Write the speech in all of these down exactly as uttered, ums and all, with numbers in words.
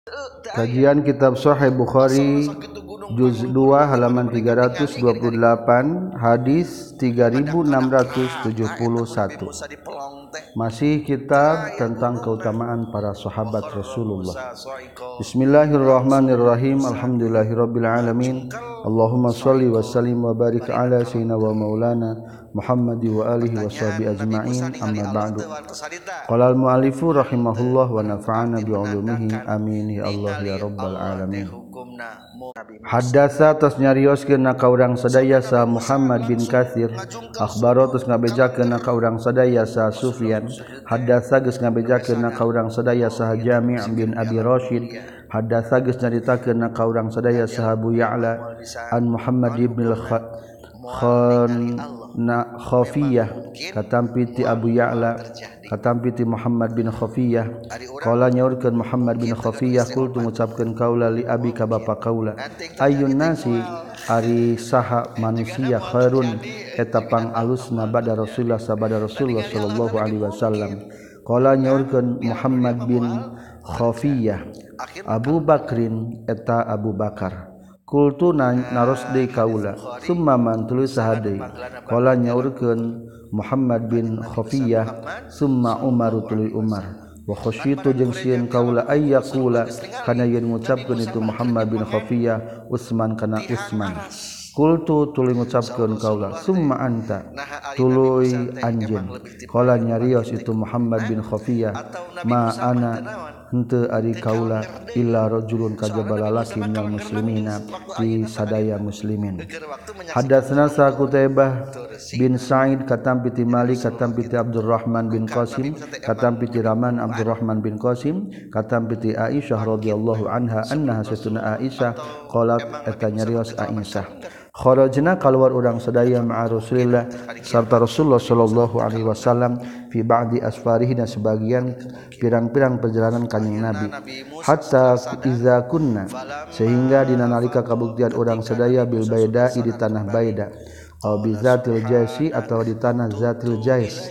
Kajian Kitab Sahih Bukhari Juz dua halaman tiga ratus dua puluh delapan hadis tiga ribu enam ratus tujuh puluh satu. Masih kitab tentang keutamaan para sahabat Rasulullah. Bismillahirrahmanirrahim. Alhamdulillahirabbil alamin. Allahumma shalli wa sallim wa barik ala sayyidina wa maulana Muhammad wa alihi wa sahbihi ajma'in. Amma ba'du. Qala al-mu'allifu rahimahullah wa nafa'ana bi 'ulumihi amin ya Allah ya rabbal alamin. Haddasa tos nyarioskeun ka urang sadaya sa Muhammad bin Katsir, akhbaro tos ngabejakeun ka urang sadaya sa Sufyan, haddasa geus ngabejakeun ka urang sadaya sa Jami' bin Abi Rasyid, haddasa geus nyaritakeun ka urang sadaya sa Abu Ya'la an Muhammad bin Khafiyah katampi ti Abu Ya'la katampi ti Muhammad bin Khafiyah qala nyaurkeun Muhammad bin Khafiyah qultu ngucapkeun kaula li abi ka bapa kaula ayyun nasi ari saha manusia khairun eta pangalusna ba'da Rasulullah sabada Rasulullah sallallahu alaihi wasallam qala nyaurkeun Muhammad bin Khafiyah Abu Bakrin eta Abu Bakar kultu naros deui kaula summa man tuluy saha deui qala nyaurkeun Muhammad bin Khafiyah summa Umar tuluy Umar wa khasyitu jeung sieun kaula ayyaqula kana yen ngucapkeun itu Muhammad bin Khafiyah Utsman kana Utsman kultu tuluy ngucapkeun kaula summa anta tuluy anjeun qala nyarios itu Muhammad bin Khafiyah ma ana henteu ari kaula illa rajulun kajaba lalaki minal muslimina di sadaya muslimin. Hadatsana sa Qutaibah bin Sa'id katampi ti Malik katampi ti Abdurrahman bin Qasim katampi ti Raman Abdurrahman bin Qasim katampi ti Aisyah radhiyallahu anha annaha satuna Aisyah qalat eta nyarios Aisyah kharajna kaluar urang sadaya ma'a Rasulillah sarta Rasulullah sallallahu alaihi wasallam fi ba'di asfarihi sebagian pirang-pirang perjalanan kanjing Nabi hatta iza kunna sehingga dina nalika kabuktian urang sadaya bil baida'i di tanah Baida aw bi zatil jaisi atau di tanah zatil jais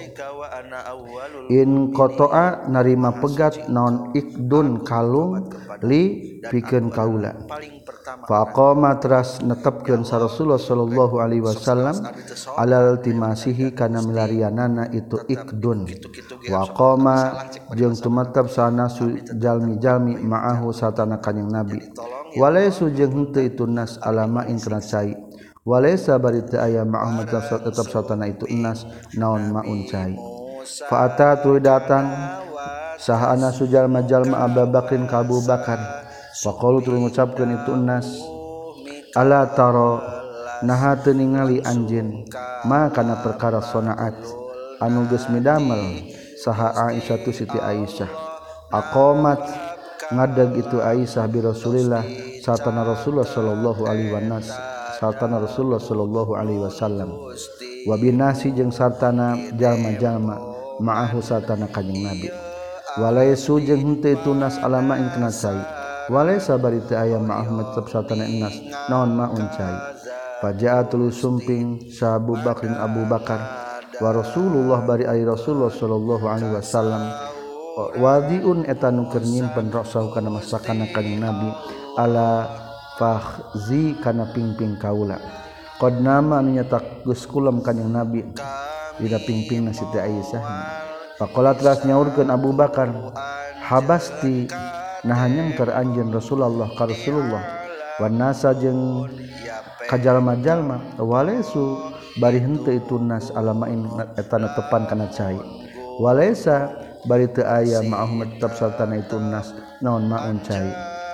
in qata'a narima pegat naon ikdun kalung li pikeun kaula faqama teras netepkeun sa Rasulullah sallallahu alaihi wasallam alal timasihi kana milarianana itu ikdun wa qama jeung tumatap sana jalmi-jalmi ma'ahu satana kanjing Nabi walaisu jeung henteu itu nas alama in kana cai walaisa bari teu aya ma'ahum tetep satana itu nas naon maun cai fa ata tu datang saha ana sujalma-jalma Abu Bakrin ka Abu Bakar faqalu tu ngucapkeun itu nas ala taro naha teu ningali anjeun ma kana perkara sonaat anu geus midamel saha Aisyah tu Siti Aisyah aqamat ngadeg itu Aisyah bi Rasulillah satana Rasulullah sallallahu alaihi wasallam satana Rasulullah sallallahu alaihi wasallam wa binasi jeung sartana jalma-jalma ma'ahu satana kanjing Nabi walaisu jeung henteu itu nas alama ing kana cai walaisa bari teu aya ma'ahum tetep satana nas naon ma'un cai faja'atul sumping sa Abu Bakrin Abu Bakar wa Rasulullah bari ai Rasulullah sallallahu alaihi wasallam wadiun eta nu keur nyimpen rasahu kana masakana kanjing Nabi ala fakhzi kana pingping kaula qad nama anu nyatak geus kulam kanjing Nabi dina pingpingna Siti Aisyah faqala teras nyaurkeun Abu Bakar habasti nah nyangker anjeun Rasulullah ka Rasulullah wan nasa jeung kajalma-jalma walaisu bari henteu itu nas alamain eta netepan kana cai walaisa bari teu aya ma'ahum tetep sartana itu nas naon maun cai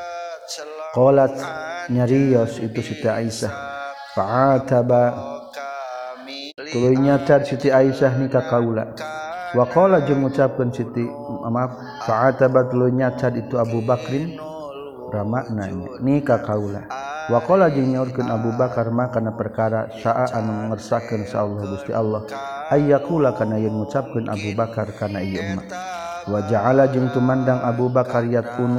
qalat nyarios itu Siti Aisyah fa'ataba tuluy nyacat Siti Aisyah ni ka kaula wa qala jeung ngucapkeun Siti maaf fa'ataba tuluy nyacat itu Abu Bakrin ramakna ni ka kaula wa qala jeung nyaurkeun Abu Bakar makana perkara sa'a anu ngersakeun sa Allah Gusti Allah ayyakula kana yen ngucapkeun Abu Bakar kana ieu umat wa ja'ala jeung tumandang Abu Bakar yatunu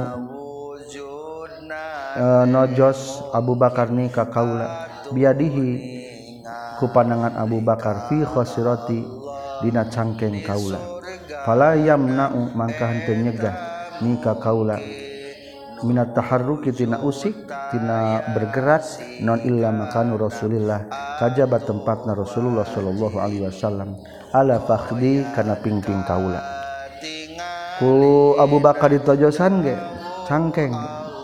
uh, nojos Abu Bakar ni ka kaula biadihi ku pandangan Abu Bakar fi khosirati dina cangkeng kaula fala yamna'u mangka henteu nyegah ni ka kaula minat taharruki tina usik tina bergerak non illa makanu Rasulillah kajaba tempatna Rasulullah sallallahu alaihi wasallam ala fakhdi kana pingping kaula ku Abu Bakar ditojosan ge cangkeng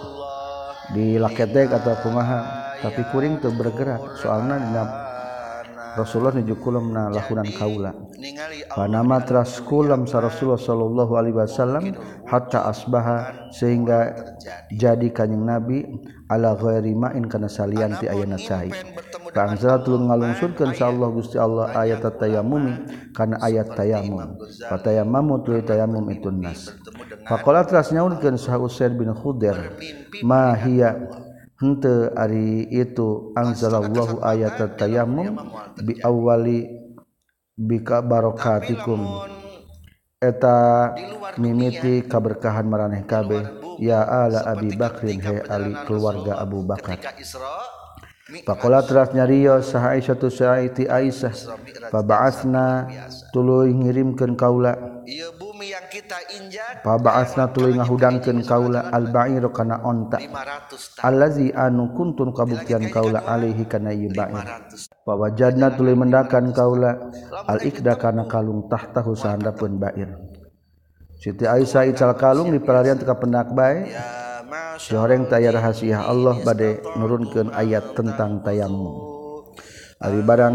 di laketek atau kumaha tapi kuring teu bergerak soalna dina Rasulullah nuju kulemna lahunan kaula panama teras kulam sa Rasulullah sallallahu alaihi wasallam hatta asbaha sehingga jadi kanjing Nabi ala ghairi ma'in kana salian ti ayana cai ka anzalatul ngalungsurkeun sa Allah Gusti Allah ayat tayammum kana ayat tayammum fatayammamu tu tayammum itu nas faqala teras nyaurkeun sa Usaid bin Khudair ma hiya henteu ari itu anzalallahu ayat tayammum bi awwali bika barokatikum eta mimiti kaberkahan maraneh kabeh ya ala Abi Bakrin he ali keluarga Abu Bakar faqala teras nyarios saha Aisyah tu saiti Aisyah fa ba'atsna tuluy ngirimkeun kaula ieu bumi yang kita injak fa ba'atsna tuluy ngahudangkeun kaula al ba'ir kana onta allazi anu kuntun kabuktian kaula alaihi kana ieu ba'ir fa wajadna tuluy mendakan kaula al ikda kana kalung tahtahu sahandapeun ba'ir Siti Aisyah ical kalung di pelarian teka pendak bae si horeng taya rahasia Allah bade nurunkeun ayat tentang tayammum ari barang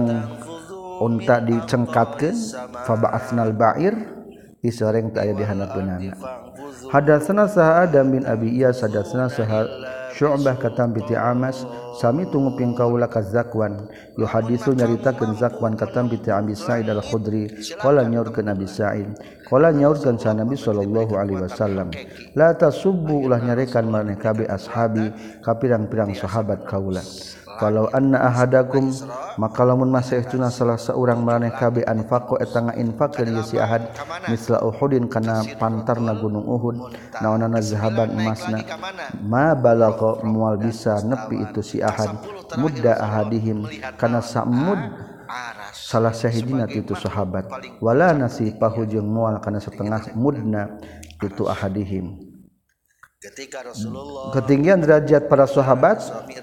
unta dicengkatkeun fa ba'atsnal ba'ir di soreng taya di hanapeunana hadatsana saha Adam bin Abi Iyas hadatsana saha Syu'bah katam bi Amas sami tunguping kaula ka Zakwan yuhadisu nyaritakeun Zakwan katam bi Abi Sa'id al-Khudri qala nyaurkeun Abi Sa'id qala nyaurkeun sa Nabi sallallahu alaihi wasallam la tasubbu ulah nyarekan maneh kabeh ashabi ka pirang-pirang sahabat kaula kalau anna ahadakum maka lamun masaehtuna salah seorang maneh kabeh anfaqo eta ngainfaqkeun ieu si ahad misla Uhudin kana pantarna gunung Uhud naonana zahaban emasna ma balagha moal bisa nepi itu si ahad mudda ahadihim kana samud salah sahidina itu sahabat wala nasifahu jeung moal kana setengah mudna itu ahadihim ketika Rasulullah ketinggian derajat para sahabat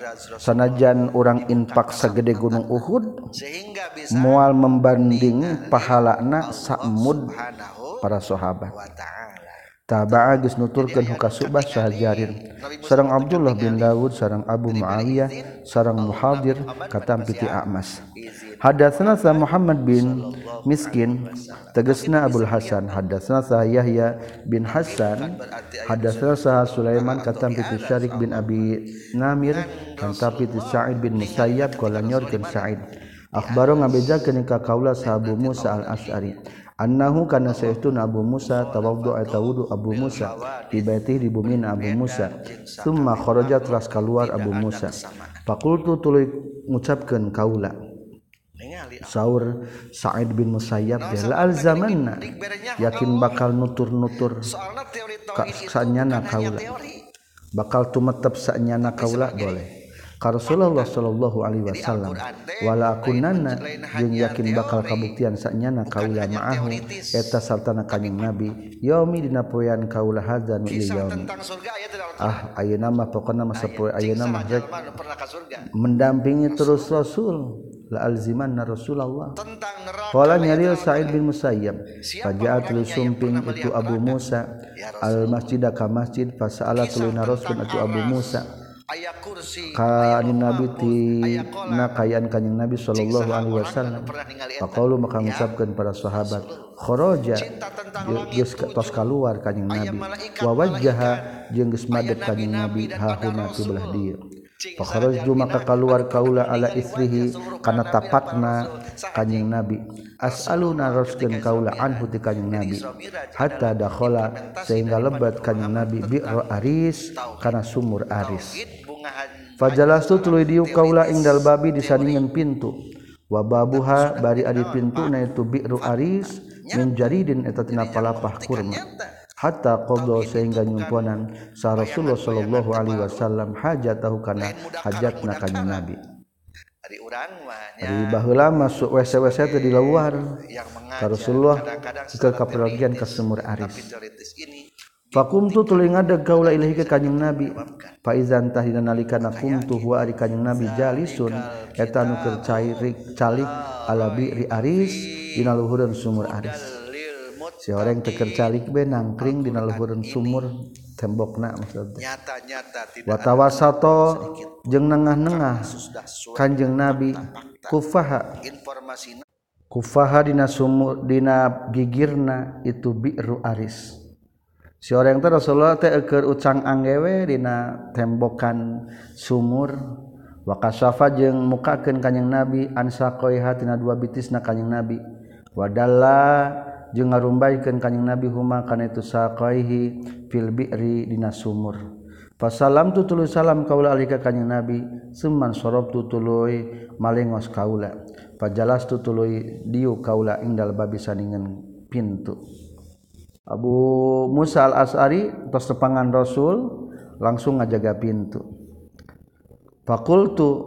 sanajan orang infak segede gunung Uhud moal membanding pahalana samud para sahabat taba'a geus nuturkeun huka Subah sahajarin sareng Abdullah bin Dawud sareng Abu Muawiyah sareng Muhadir katam piti A'mas hadatsana sa Muhammad bin Miskin tegasna Abul Hasan hadatsana sa Yahya bin Hasan hadatsana sa Sulaiman katam piti Syarik bin Abi Namir katam piti Sa'id bin Musayyab qala nyorkeun Sa'id akhbaro ngabejakeun ka kaula sa Abu Musa al-Asy'ari annahu kana sayyidun Abu Musa tawaddu atawudu Abu Musa di baiti di bumi Abu Musa summa kharaja teras keluar Abu Musa faqultu tuluy ngucapkeun kaula saur Sa'id bin Musayyab la alzamanna yakin bakal nutur-nutur sanyana kaula bakal tumetep sanyana kaula boleh ka Rasulullah sallallahu alaihi wasallam wala kunanna jeung yakin bakal kabuktian sanyana kaula ma'ahu eta sartana kanjing Nabi yaumi dina poean kaula hadzan ieu yaumi ah ayeuna mah pokona mah sapoe ayeuna mah rek mendampingi terus Rasul la alzimanna Rasulullah qala nyarios Sa'id bin Musayyab faja'at lu sumping itu Abu Musa al masjida ka masjid fasa'ala tuluy naroskeun itu Abu Musa ka Nabi ti na kayaan kanjing Nabi sallallahu alaihi wasallam faqalu maka ngucapkeun para sahabat kharaja geus tos kaluar kanjing Nabi wa wajjaha jeung geus madep kanjing Nabi hauna ti belah dieu fakharajtu maka kaluar kaula ala isrihi kana tapakna kanjing Nabi as'aluna raskeun kaula anhu ti kanjing Nabi hatta dakhala sehingga lebat kanjing Nabi bi'r aris kana sumur aris fajalastu tuluy diu kaula ingdal babi disandingan pintu wa babuha bari adi pintuna itu bi'r aris min jaridin eta tina palapah kurma hatta qadha sehingga nyumponan sa Rasulullah sallallahu alaihi wasallam hajatahu kana hajatna kanjing Nabi ari urang mah nya ari baheula masuk W C W C teh di luar ka Rasulullah ke kapergian ke sumur aris Fakumtu tuluy ngadeg kaula ilahi ka kanjing Nabi. Fa izan tahina nalikana kumtu huwa ari kanjing Nabi jalisun eta nu keur cairik calik ala bi'ri Aris dina luhureun sumur Aris. Si orang teu keur calik be nangkring dina luhureun sumur tembokna maksudna. Wa tawasato jeung nengah-nengah kanjing Nabi kufaha kufaha dina sumur dina gigirna itu bi'ru Aris. Si orang teh Rasulullah teh keur ucang anggewe dina tembokan sumur wa kasafa jeung mukakeun kanjing Nabi ansaqaiha tina dua bitisna kanjing Nabi wa dalla jeung ngarumbaykeun kanjing Nabi huma kana itu saqaihi fil bi'ri dina sumur. Fasalam tu tuluy salam kaula alika kanjing Nabi summan sorab tu tuluy malengos kaula fajalas tu tuluy diu kaula indal babi saningan pintu. Abu Musa al-As'ari tos tepangan Rasul langsung ngajaga pintu. Faqultu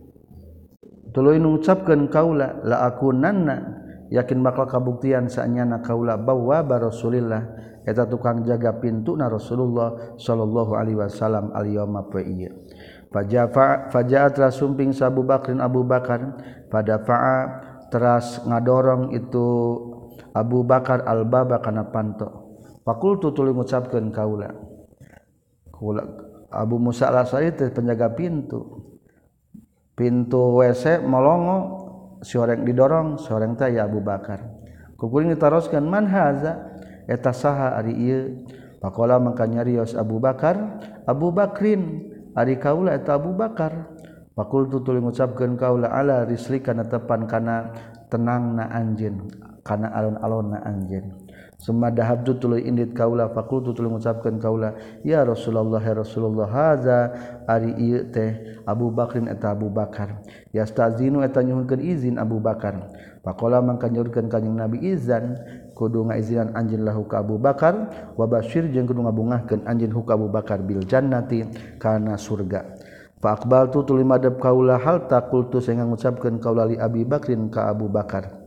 tuluy ngucapkeun kaula la akunanna yakin bakal kabuktian saenyana kaula bawwa Rasulillah eta tukang jaga pintuna Rasulullah sallallahu alaihi wasallam al-yauma fa ieu. Fajafa fajaat rasumping sa Abu Bakrin Abu Bakar pada fa'a teras ngadorong itu Abu Bakar al-baba kana panto. Fakultu tuluy ngucapkeun kaula. Kaula Abu Musa al-Asy'ari teh penjaga pintu. Pintu W C molongo si orang didorong, si orang teh ya Abu Bakar. Kukuring ditaroskeun man haza eta saha ari ieu. Faqala mangka nyarios Abu Bakar, Abu Bakrin ari kaula eta Abu Bakar. Fakultu tuluy ngucapkeun kaula ala rislika netepan kana tenangna anjeun. Kana alon-alonna anjeun. Summa dahabtu tuluy indit kaula faqultu tuluy ngucapkeun kaula ya Rasulullah ya Rasulullah haza ari ieu teh Abu Bakrin eta Abu Bakar yastazinu eta nyuhunkeun izin Abu Bakar faqala mangka nyuhunkeun kanjing Nabi izan kudu ngaizinan anjeun lahu ka Abu Bakar wa basyir jeung kudu ngabungahkeun anjeun hu ka Abu Bakar bil jannati kana surga. Fa aqbaltu tuluy madep kaula hal taqultu sehingga ngucapkeun kaula li Abi Bakrin ka Abu Bakar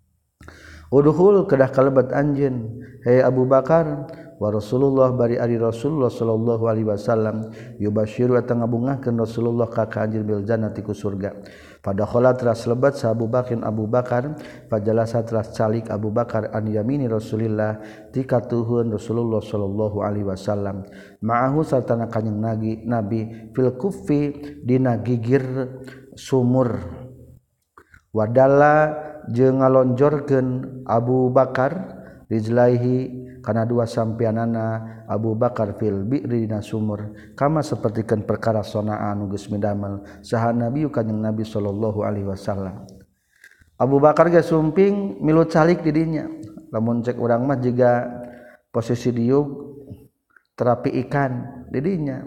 Udhul kedah kalebat anjeun hei Abu Bakar wa Rasulullah bari ari Rasulullah sallallahu alaihi wasallam yubasyiru eta ngabungahkeun Rasulullah ka ka anjeun bil jannati ku surga. Pada khala teras lebat sa Abu Bakrin Abu Bakar fajalasa teras calik Abu Bakar an yamini Rasulillah ti katuhun Rasulullah sallallahu alaihi wasallam ma'ahu sartana kanjing Nabi Nabi fil kuffi dina gigir sumur wadalla jeung ngalonjorkeun Abu Bakar rijlaihi kana dua sampeanana Abu Bakar fil bi'ri dina sumur kama sapertikeun perkara sonaan geus midamel saha Nabi kanjing Nabi sallallahu alaihi wasallam. Abu Bakar ge sumping milu calik di dinya lamun cek urang mah jiga posisi diuk terapi ikan di dinya.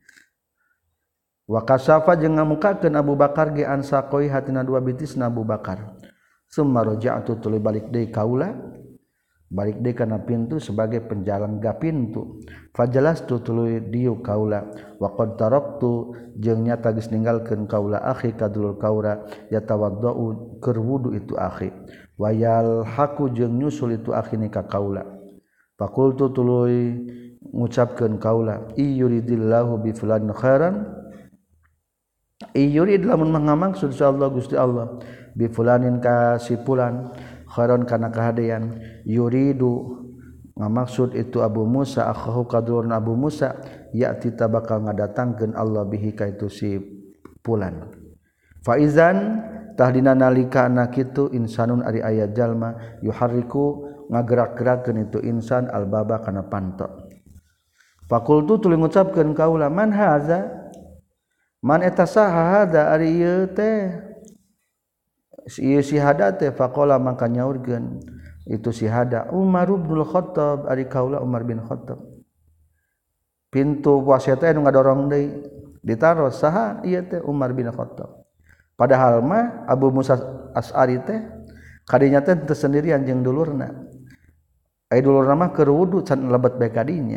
Wa kasafa jeung ngamukakeun Abu Bakar ge ansaqoi hatina dua bitisna Abu Bakar. Summa raja'tu tuluy balik deui kaula balik deui kana pintu sebagai penjalangga pintu fajalastu tuluy diu kaula wa qad taraktu jeung nyata geus ninggalkeun kaula akhi kadulur kaula yatawaddau keur wudu itu akhi wayal haku jeung nyusul itu akhi ni ka kaula faqultu tuluy ngucapkeun kaula iyuridillahu bi fulan khairan iyurid lamun mangamaksud insyaallah Gusti Allah bi fulanin ka si fulan khairan kana kahadean yuridu ngamaksud itu Abu Musa akhahu kadurun Abu Musa ya'ti tabakal ngadatangkeun Allah bihi ka itu si fulan fa izan tahdina nalika anak kitu insanun ari aya jalma yuharriku ngagerak-gerakeun itu insan albaba kana panto faqultu tuluy ngucapkeun kaula man haza man eta saha hada ari ieu teh si si hada teh faqala mangka nyaurkeun itu si hada Umar bin Khattab ari kaula Umar bin Khattab pintu puasa teh anu ngadorong deui ditaros saha ieu teh Umar bin Khattab padahal mah Abu Musa Asy'ari teh kadinya teh teu sendirian jeung dulurna ai dulurna mah keur wudu can lebet bae kadinya.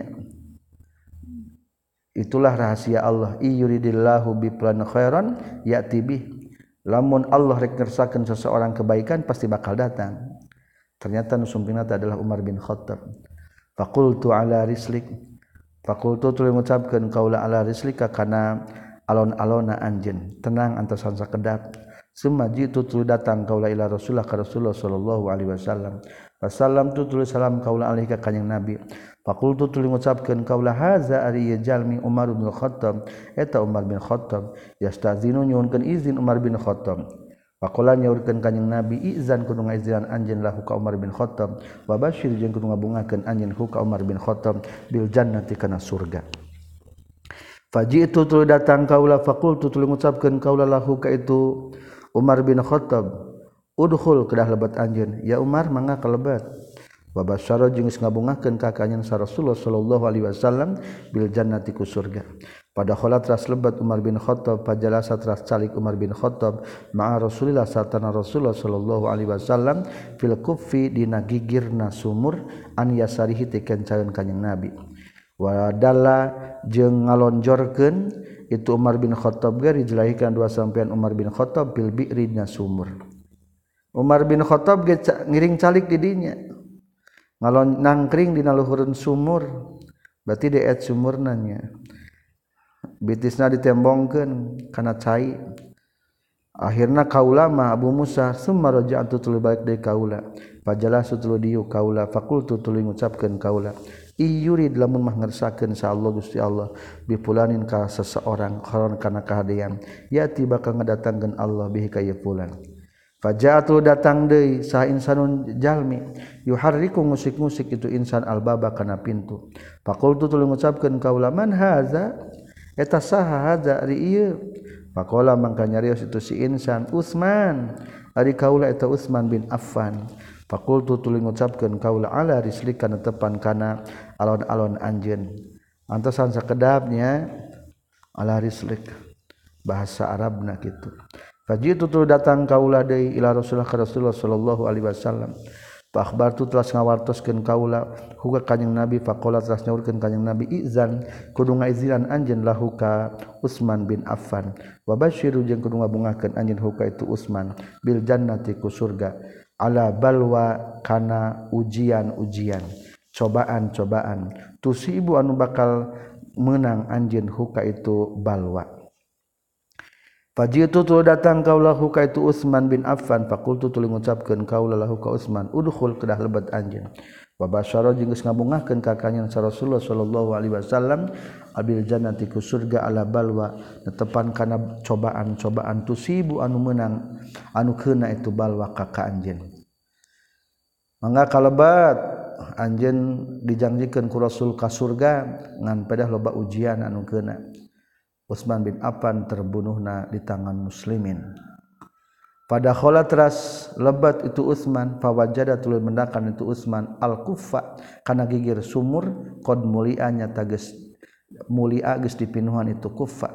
Itulah rahasia Allah iyuridillahu bi plan khairan ya'ti bih. Lamun Allah rek ngersakakeun seseorang kebaikan pasti bakal datang. Ternyata nu sumpingna adalah Umar bin Khattab. faqultu ala rislik faqultu tuluy ngucapkeun kaula ala rislika kana alon-alona anjeun tenang antosan sakedap summa jitu tuluy datang kaula ila rasulullah ka rasulullah sallallahu alaihi wasallam wasallam tu tuluy salam kaula alaihi ka kanjing nabi faqultu tuluy ngucapkeun kaula haza ari jalmi Umar bin Khattab eta Umar bin Khattab yastazinu nyuhunkeun izin Umar bin Khattab faqala nyaurkeun kanjing nabi izan kudu ngaizinan anjeun lahu ka Umar bin Khattab wa basyir jeung kudu ngabungakeun anjeun ku ka Umar bin Khattab bil jannati kana surga fajitu tuluy datang kaula faqultu tuluy ngucapkeun kaula lahu ka itu Umar bin Khattab udkhul kedah lebat anjeun ya Umar mangga kalebat wa basyara jeung geus ngabungakeun ka kanjeng Rasulullah sallallahu alaihi wasallam bil jannati ku surga pada kholat ras lebat Umar bin Khattab pajalasa ras calik Umar bin Khattab ma'a Rasulillah satana Rasulullah sallallahu alaihi wasallam fil kuffi dina gigirna sumur an yasarihi teken caeun kanjing Nabi wa dalla jeung ngalonjorkeun itu Umar bin Khattab ge dijelahikan dua sampean Umar bin Khattab bil bi'ri dina sumur Umar bin Khattab ge ngiring calik di dinya ngalon nangkring dina luhureun sumur berarti deet sumurna nya bitisna ditembongkeun kana cai akhirna kaula mah Abu Musa summa raja'tu tuluy balik deui kaula fajalasu tuluy diu kaula faqultu tuluy ngucapkeun kaula iyurid lamun mah ngersakeun sa Allah Gusti Allah bi fulanin ka seseorang kharon kana kahadean yati bakal ngadatangkeun Allah bihi ka ieu fulan faja'tu datang deui sa insanun jalmi yuharriku musik-musik itu insan albaba kana pintu faqultu tuluy ngucapkeun kaula man haza eta saha hadza ari ieu faqala mangka nyarios itu si insan Utsman ari kaula eta Utsman bin Affan faqultu tuluy ngucapkeun kaula ala rislika netepan kana alon-alon anjeun antosan sakedapnya ala rislik bahasa Arabna kitu fajitu tuluy datang kaula deui ila Rasulullah ka Rasulullah sallallahu alaihi wasallam fa akhbartu telas ngawartoskeun kaula huka kanjing Nabi faqala telas nyaurkeun kanjing Nabi izan kudu ngaizinan anjeun lahu ka Utsman bin Affan wa basyiru jeung kudu ngabungakeun anjeun huka itu Utsman bil jannati ku surga ala balwa kana ujian-ujian cobaan-cobaan tusibu anu bakal menang anjeun huka itu balwa fajitu tu datang kaula huka itu Utsman bin Affan faqultu tuluy ngucapkeun kaula lahu ka Utsman udkhul kedah lebat anjeun wa basyara jeung geus ngabungakeun ka kanjeng Rasulullah sallallahu alaihi wasallam abil jannati ku surga ala balwa netepan kana cobaan-cobaan tusibu anu menang anu keuna itu balwa ka ka anjeun mangga kalebat anjeun dijanjikeun ku Rasul ka surga ngan pedah loba ujian anu keuna Utsman bin Affan terbunuhna di tangan muslimin pada kholat teras lebat itu Utsman fawajada tuluy mendakan itu Utsman al-kuffa kana gigir sumur qad mulia nya tages mulia geus dipinuhan itu kuffa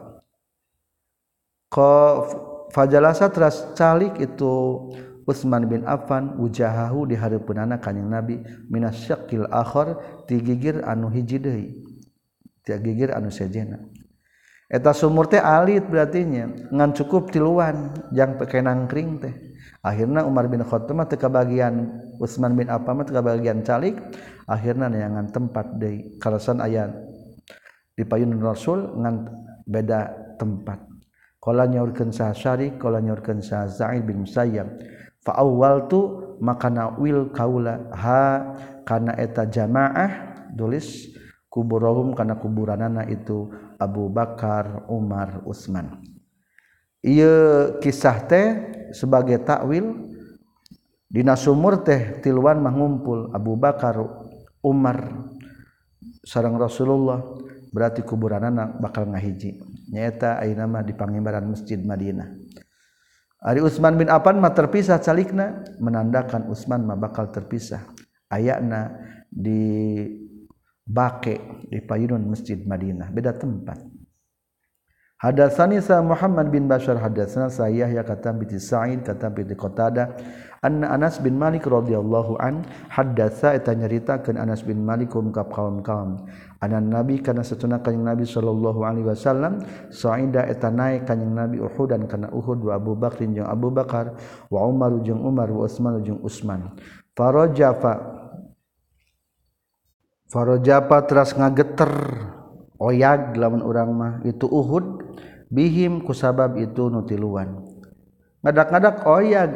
qa fajalasa teras calik itu Utsman bin Affan wujahahu di hareupeunana kanjing Nabi minasyaqil akhar ti gigir anu hiji deui ti gigir anu sejena eta sumur teh alit berarti nya ngan cukup tiluan jang pake nangkring teh akhirna Umar bin Khattab mah teu kabagian Utsman bin Affan mah teu kabagian calik akhirna neangan tempat deui kalasan aya di payun Rasul ngan beda tempat qala nyaurkeun sa Syari qala nyaurkeun sa Sa'id bin Musayyab fa awwaltu makana wil kaula ha kana eta jamaah tulis kuburahum kana kuburanana itu Abu Bakar, Umar, Utsman. Ieu kisah teh sebagai takwil dina sumur teh tiluan mah ngumpul Abu Bakar, Umar sareng Rasulullah berarti kuburanana bakal ngahiji. Nyaeta ayeuna mah di pangimbaran Masjid Madinah. Ari Utsman bin Affan mah terpisah calikna menandakan Utsman mah bakal terpisah. Ayana di Baqi di payunun Masjid Madinah beda tempat. Hadatsani sa Muhammad bin Bashar hadatsana sa Yahya katam bi Sa'id katam bi Qatadah anna Anas bin Malik radhiyallahu an hadatsa eta nyaritakeun Anas bin Malik kum ka kaum-kaum anan Nabi kana satuna kanjing Nabi sallallahu alaihi wasallam sa'ida eta naik kanjing Nabi Uhudan kana Uhud wa Abu Bakr jeung Abu Bakar wa Umar jeung Umar wa Utsman jeung Utsman farajafa farojapa teras ngageter oyag lamun urang mah itu Uhud bihim kusabab itu nutiluan ngadak-ngadak oyag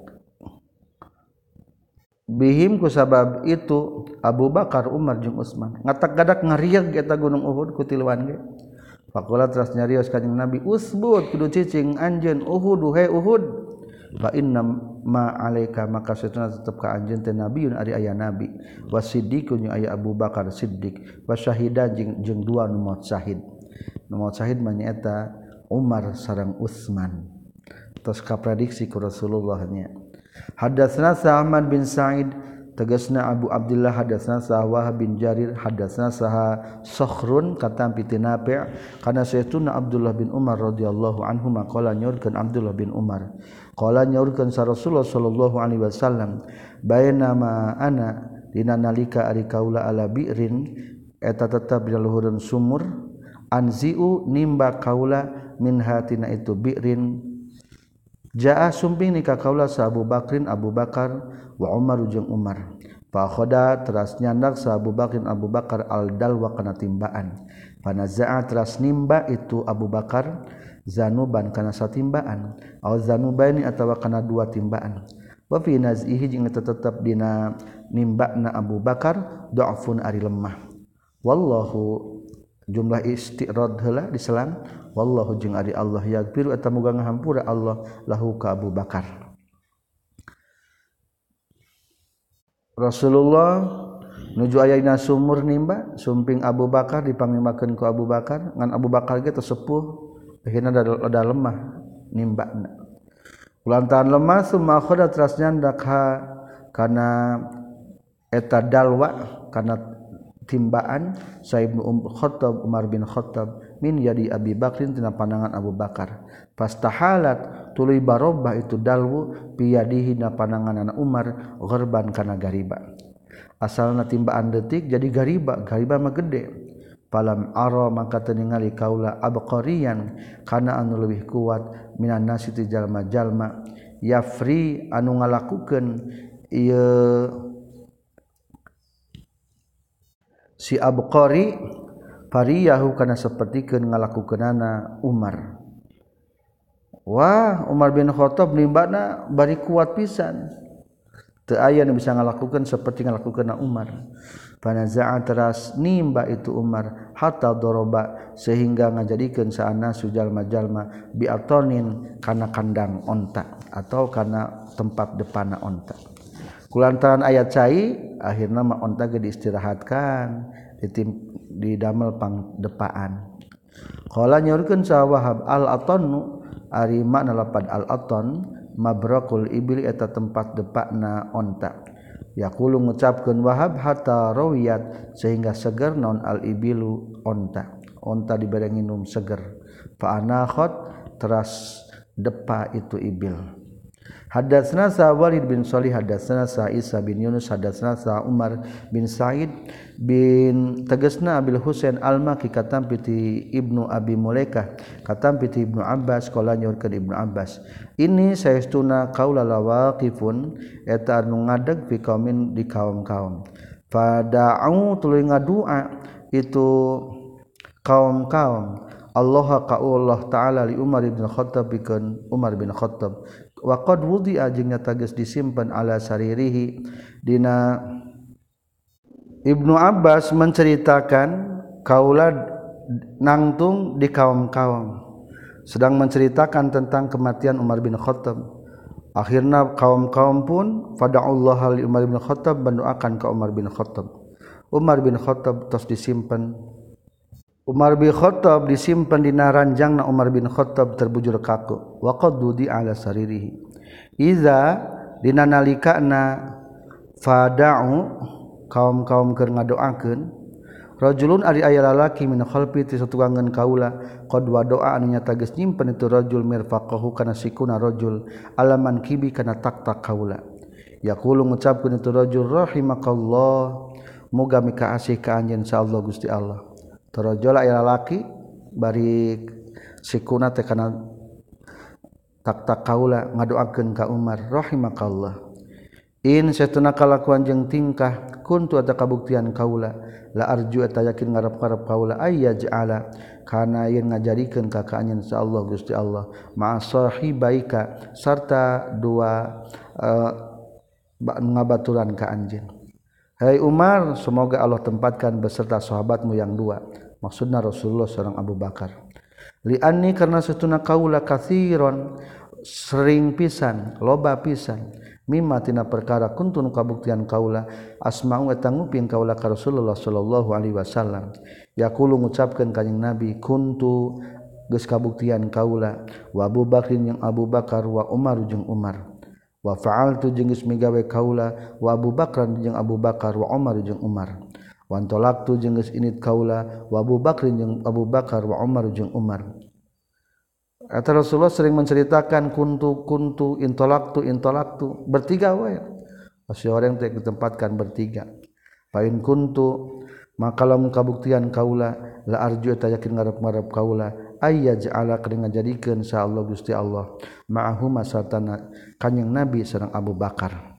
bihim kusabab itu Abu Bakar Umar jeung Utsman ngatak-gadak ngarieg eta gunung Uhud ku tiluan ge faqala teras nyarios kanjing Nabi usbut kudu cicing anjeun Uhud he Uhud fa inna ma alaika maka satuna tetep ka anjeun teh nabiun ari aya nabi wasiddiqun aya Abu Bakar Siddiq wasyahidan jeung jeung dua nu maut syahid nu maut syahid mah nyaeta Umar sareng Utsman tos kaprediksi ku Rasulullah nya hadatsna Sa'man bin Sa'id tegasna Abu Abdullah hadatsna Wahab bin Jarir hadatsna saha Sakhrun katampi ti Nafi' kana sayyiduna Abdullah bin Umar radhiyallahu anhu maqala nyorkeun Abdullah bin Umar qala nyorkeun sa Rasulullah sallallahu alaihi wasallam bainama ana dina nalika ari kaula ala bi'rin eta tetep di luhureun sumur anziu nimba kaula min hatina itu bi'rin jaa sumping nikah kaula sa Abu Bakrin Abu Bakar wa Umar jeung Umar fa khoda teras nyandak sa Abu Bakrin Abu Bakar al dalwa kana timbaan panaza'a teras nimba itu Abu Bakar zanuban kana satimbaan au zanubaini atawa kana dua timbaan wa fi naz'ihi jeung tetep dina nimbana Abu Bakar dha'fun ari lemah wallahu jumlah istirad heula diselang wallahu jeung ari Allah yaghfiru eta muga ngahampura Allah lahu ka Abu Bakar Rasulullah nuju ayana sumur nimba sumping Abu Bakar dipangnimakeun ku Abu Bakar ngan Abu Bakar ge sepuh akhirna da lemah nimbana kulantaran lemah summa khoda teras nyandak ha kana eta dalwa kana timbaan Saibnu um Khattab Umar bin Khattab min yadi Abi Bakrin tina pandangan Abu Bakar fastahalat tuluy barobah itu dalwu piyadihi na pandangan anak Umar gharban kana gariba asalna timbaan detik jadi gariba gariba mah gede falam ara maka teu ningali kaula abqariyan kana anu leuwih kuat minan nasi ti jalma-jalma yafri anu ngalakukeun ieu si abqari fariyahu kana sapertikeun ngalakukeunana Umar wah Umar bin Khattab nimbana bari kuat pisan teu aya nu bisa ngalakukeun saperti ngalakukeunna Umar panaza'a teras nimba itu Umar hatta doroba sehingga ngajadikeun saana sujalma-jalma biatonin kana kandang onta atau kana tempat depanna onta kulantaran ayat cai akhirna mah onta ge diistirahatkan ditim di damel pangdepaan qala nyorkeun sa Wahab al atannu ari makna lapad al atan mabrakul ibli eta tempat depana onta yaqulu ngucapkeun Wahab hatta rawiyat sehingga seger naon al ibilu onta onta dibere nginum seger fa anakhat teras depa itu ibil hadatsna sa Walid bin Shalih hadatsna sa Isa bin Yunus hadatsna sa Umar bin Sa'id bin tegasna Abil Husain al-Maki katampi ti Ibnu Abi Mulaikah katampi ti Ibnu Abbas qala nyorkeun Ibnu Abbas ini saestuna qaula lawaqifun eta anu ngadeg fi qaumin di kaum-kaum fada'u tuluy ngadua itu kaum-kaum Allah ka Allah taala li Umar bin Khattab bikeun Umar bin Khattab wa qad wudi'a jeung nyata geus disimpen ala saririhi dina Ibnu Abbas menceritakan kaula nangtung di kaum-kaum sedang menceritakan tentang kematian Umar bin Khattab akhirna kaum-kaum pun fada'allahu li Umar bin Khattab mendoakan ke Umar bin Khattab Umar bin Khattab tos disimpen Umar bin Khattab disimpan dina ranjangna Umar bin Khattab terbujur kaku wa qadudi ala saririhi iza dina nalikana fada'u kaum-kaum keur ngadoakeun rajulun ari aya lalaki min khalfi ti satuangan kaula qad wa doa anu nyata geus nyimpen itu rajul mirfaqahu kana sikuna rajul alaman kibi kana tak-tak kaula yaqulu ngucapkeun itu rajul rahimakallah muga mika asih ka anjeun insyaallah Gusti Allah tarajul aya lalaki bari sikuna teh kana tak-tak kaula ngadoakeun ka Umar rahimakallah in satuna kalakuan jeung tingkah kuntu eta kabuktian kaula la arju eta yakin ngarep-ngarep kaula ayyaj'ala kana yen ngajadikeun ka ka anjeun insyaallah Gusti Allah ma sahibaika sarta dua uh, ngabaturan ka anjeun. Hai Umar, semoga Allah tempatkan beserta sahabatmu yang dua, maksudna Rasulullah sareng Abu Bakar. Li anni karna satuna kaula katsiron sering pisan loba pisan mimma tina perkara kuntun kabuktian kaula asma'u eta nguping kaula ka Rasulullah sallallahu alaihi wasallam yaqulu ngucapkeun kanjing Nabi kuntu geus kabuktian kaula wa Abu Bakrin jeung Abu Bakar wa Umar jeung Umar wa fa'altu jeung geus migawe kaula wa Abu Bakran jeung Abu Bakar wa Umar jeung Umar wa antolaktu jeung geus init kaula wa Abu Bakrin jeung Abu Bakar wa Umar jeung Umar. Kata Rasulullah sering menceritakan kuntu kuntu intolaktu intolaktu bertiga wae. Masih orang teh ditempatkan bertiga. Pain kuntu maka lamun kabuktian kaula la arju eta yakin ngarep-ngarep kaula ayyaj'ala kana ngajadikeun insyaallah Gusti Allah ma'ahu masatana kanjing Nabi sareng Abu Bakar.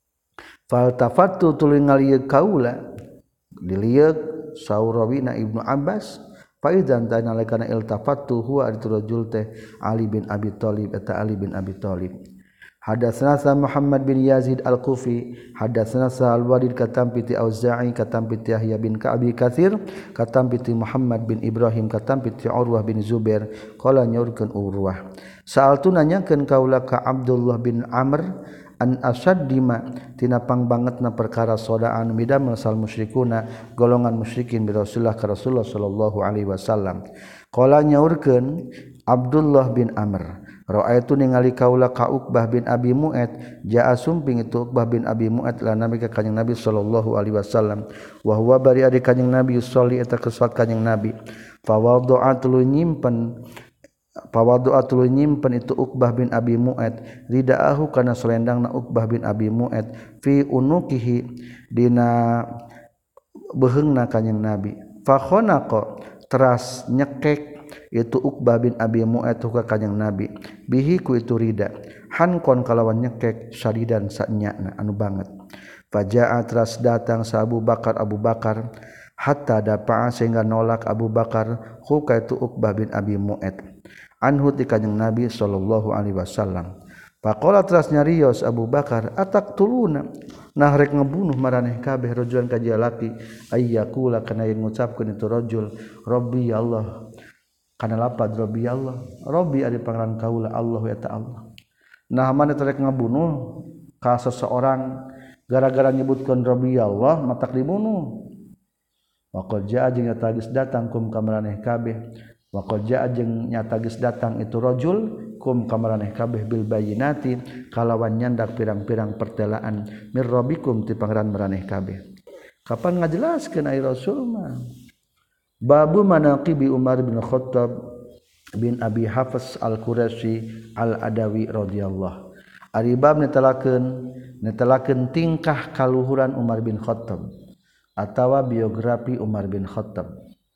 Faltafattu tuluy ngalieug kaula dilieug saurawina Ibnu Abbas Faidan tana lekana iltafattu huwa aritu rajul teh Ali bin Abi Thalib eta Ali bin Abi Thalib. Hadatsana Muhammad bin Yazid Al-Kufi, hadatsana Al-Walid katam piti Auza'i katam piti Yahya bin Ka'bi Katsir, katam piti Muhammad bin Ibrahim katam piti Urwah bin Zubair, qala nyaurkeun Urwah. Sa'altu nanyakeun kaula ka Abdullah bin Amr an asaddima tina pangbangetna perkara sodaan midamel sal musyrikuna golongan musyrikin bi Rasulullah ka Rasulullah sallallahu alaihi wasallam. Qala nyaurkeun Abdullah bin Amr ra'aitu ningali kaula ka Uqbah bin Abi Mu'ad jaa sumping itu Uqbah bin Abi Mu'ad la nabi ka kanjing Nabi sallallahu alaihi wasallam wa huwa bari adi kanjing Nabi sholli eta kesot kanjing Nabi fa wada'at lu nyimpen pawadu'a tuluy nyimpen itu Uqbah bin Abi Mu'ad ridaahu kana selendangna Uqbah bin Abi Mu'ad fi unuqihi dina beheungna kanjing Nabi fa khanaqa teras nyekek itu Uqbah bin Abi Mu'ad ka kanjing Nabi bihi ku itu rida hankon kalawan nyekek syadidan sanyana anu banget faja'a teras datang sa Abu Bakar Abu Bakar hatta dapa'a sehingga nolak Abu Bakar hu ka itu Uqbah bin Abi Mu'ad anhu ti kanjing Nabi sallallahu alaihi wasallam. Faqala teras nyarios Abu Bakar ataqtuluna nah rek ngebunuh maraneh kabeh rajulan ka jalaki ayyakula kana yen ngucapkeun itu rajul rabbi ya Allah kana lapad rabbi ya Allah rabbi ari pangaran kaula Allah ya ta'ala. Nah mane rek ngabunuh ka seseorang gara-gara nyebutkeun rabbi ya Allah matak dibunuh. Wa qad jaa jeung tagis datang kum ka maraneh kabeh wa qad jaa jeung nyata geus datang itu rajul kum kamaraneh kabeh bil bayyinati kalawan nyandak pirang-pirang pertelaan mir rabbikum ti pangeran maraneh kabeh. Kapan ngajelaskeun ai Rasul mah babu manaqibi Umar bin Khattab bin Abi Hafs Al-Quraisy Al-Adawi radhiyallahu ari bab netelakeun netelakeun tingkah kaluhuran Umar bin Khattab atawa biografi Umar bin Khattab.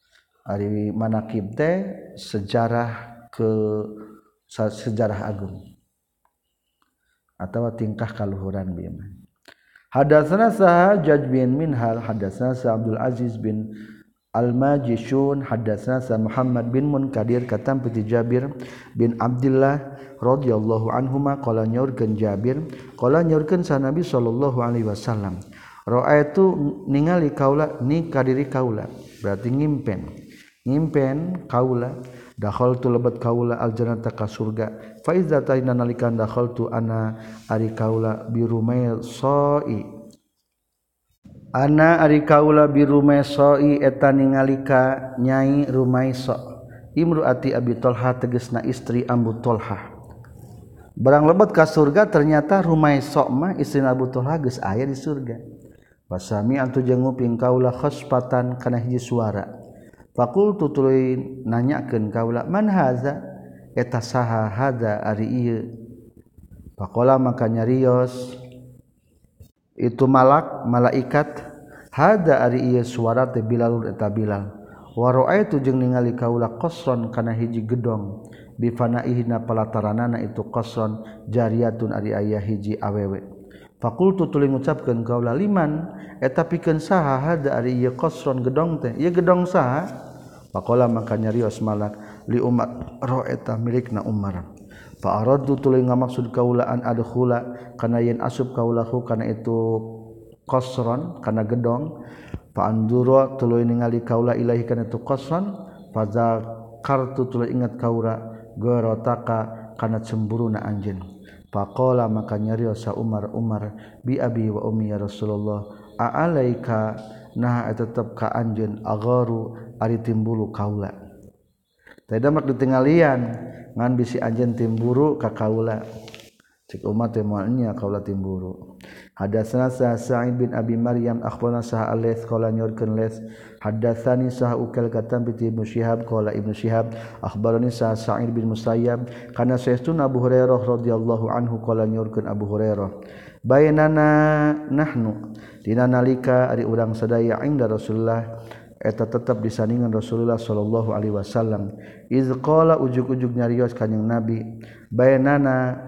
Ari manaqib teh sejarah ke sejarah agung atawa tingkah kaluhuran bieu. Hadatsana Sahajaj bin Minhal hadatsana Abdul Aziz bin Al-Majishun hadatsana Muhammad bin Munkadir katam piti Jabir bin Abdullah radhiyallahu anhuma qala nyaurkeun Jabir qala nyaurkeun sa Nabi sallallahu alaihi wasallam ra'aitu ningali kaula ni kadiri kaula berarti ngimpen ngimpen kaula dakhaltu lebat kaula aljannata ka surga fa iza taina nalikan dakhaltu ana ari kaula birumai soi ana ari kaula birumai soi eta ningalika nyai Rumaiso imruati Abi Thalha tegasna istri Abu Thalha barang lebat ka surga ternyata Rumaiso mah istri Abu Thalha geus aya di surga wasami antu jeung nguping kaula khasfatan kana hiji suara faqultu tuluy nanyakeun kaula man haza eta saha hada ari ieu faqala maka nyarios itu malak malaikat hada ari ieu suara teh Bilal eta Bilal wa ra'aitu jeung ningali kaula qasron kana hiji gedong bi fanaihina palataranana itu qasron jariyatun ari aya hiji awewe Fakultu tuluy ngucapkeun kaula liman eta pikeun saha hada ari ieu qasron gedong teh ieu gedong saha faqala maka nyarios malak li Umar ro eta milikna Umar fa aradtu tuluy ngamaksud kaula an adkhula kana yen asub kaulahu kana itu qasron kana gedong fa andura tuluy ningali kaula ilahi kana itu qasron fa zakartu tuluy ingat kaula garotaka kana cemburuna anjeun faqala maka nyarios sa Umar Umar bi abi wa ummi ya Rasulullah a'alaika nah tetep ka anjeun agaru ari timbulu kaula teh mak ditinggalian ngan bisi anjeun timburu ka kaula cik Umar teh moal nya kaula timburu hadatsana Sa'id bin Abi Maryam akhbarana Sa'al Ales qala nyorkeun Les hadatsani Sa'al ukal katam bi Ibnu Syihab qala Ibnu Syihab akhbarani Sa'id bin Musayyab kana sayyidun Abu Hurairah radhiyallahu anhu qala nyorkeun Abu Hurairah bainana nahnu dina nalika ari urang sadaya inda Rasulullah eta tetep disandingan Rasulullah sallallahu alaihi wasallam iz qala ujug-ujug nyarios kanjing Nabi bainana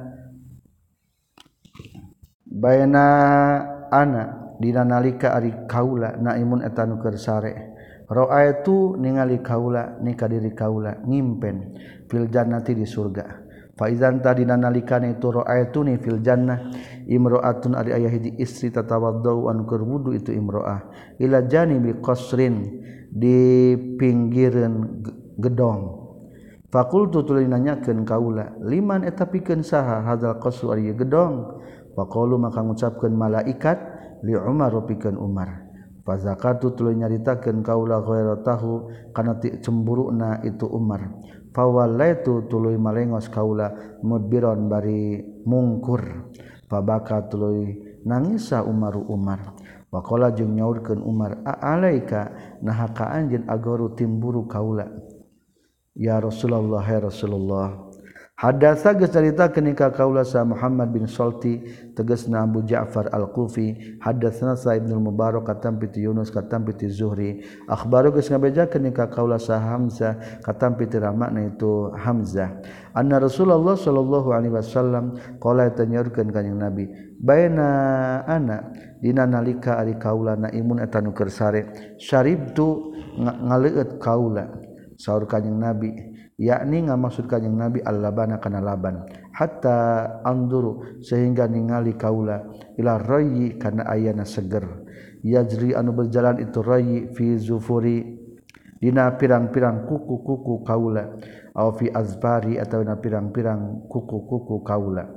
bayna ana dina nalika ari kaula naimun eta nu keur sare ra'aitu ningali kaula ni ka diri kaula ngimpen fil jannati di surga fa idzan tadina nalikana itu ra'aitu ni fil jannah imra'atun ari aya hiji istri tatawaddau anu keur wudu itu imra'ah ila janibi qasrin di pinggireun gedong faqultu tuluy nanyakeun kaula liman eta pikeun saha hadzal qasru ari gedong faqalu maka ngucapkeun malaikat li Umar pikeun Umar fa zakatu tuluy nyaritakeun kaula ghairatahu kana cemburuna itu Umar fa wallaitu tuluy malengos kaula mudbiron bari mungkur fa baka tuluy nangisa Umar Umar waqala jeung nyaurkeun Umar a'alaika naha ka anjeun agaru timburu kaula ya Rasulullah ya Rasulullah Hadatsa geus caritakeun ka kaula sa Muhammad bin Salti tegasna Abu Ja'far Al-Kufi hadatsana sa Ibnu Mubarak katam piti Yunus katam piti Zuhri akhbaru geus ngabejakeun ka kaula sa Hamzah katam piti ramakna itu Hamzah anna Rasulullah sallallahu alaihi wasallam qala tanyorkeun kanjing Nabi baina ana dina nalika ari kaula naimun eta nu keur sare syaribtu ngaleueut kaula saur kanjing Nabi yakni ngamaksud kanjing Nabi al-labana kana laban hatta anduru sehingga ningali kaula ila rayyi kana ayana seger yajri anu berjalan itu rayyi fi zufuri dina pirang-pirang kuku-kuku kaula au fi azbari atawa dina pirang-pirang kuku-kuku kaula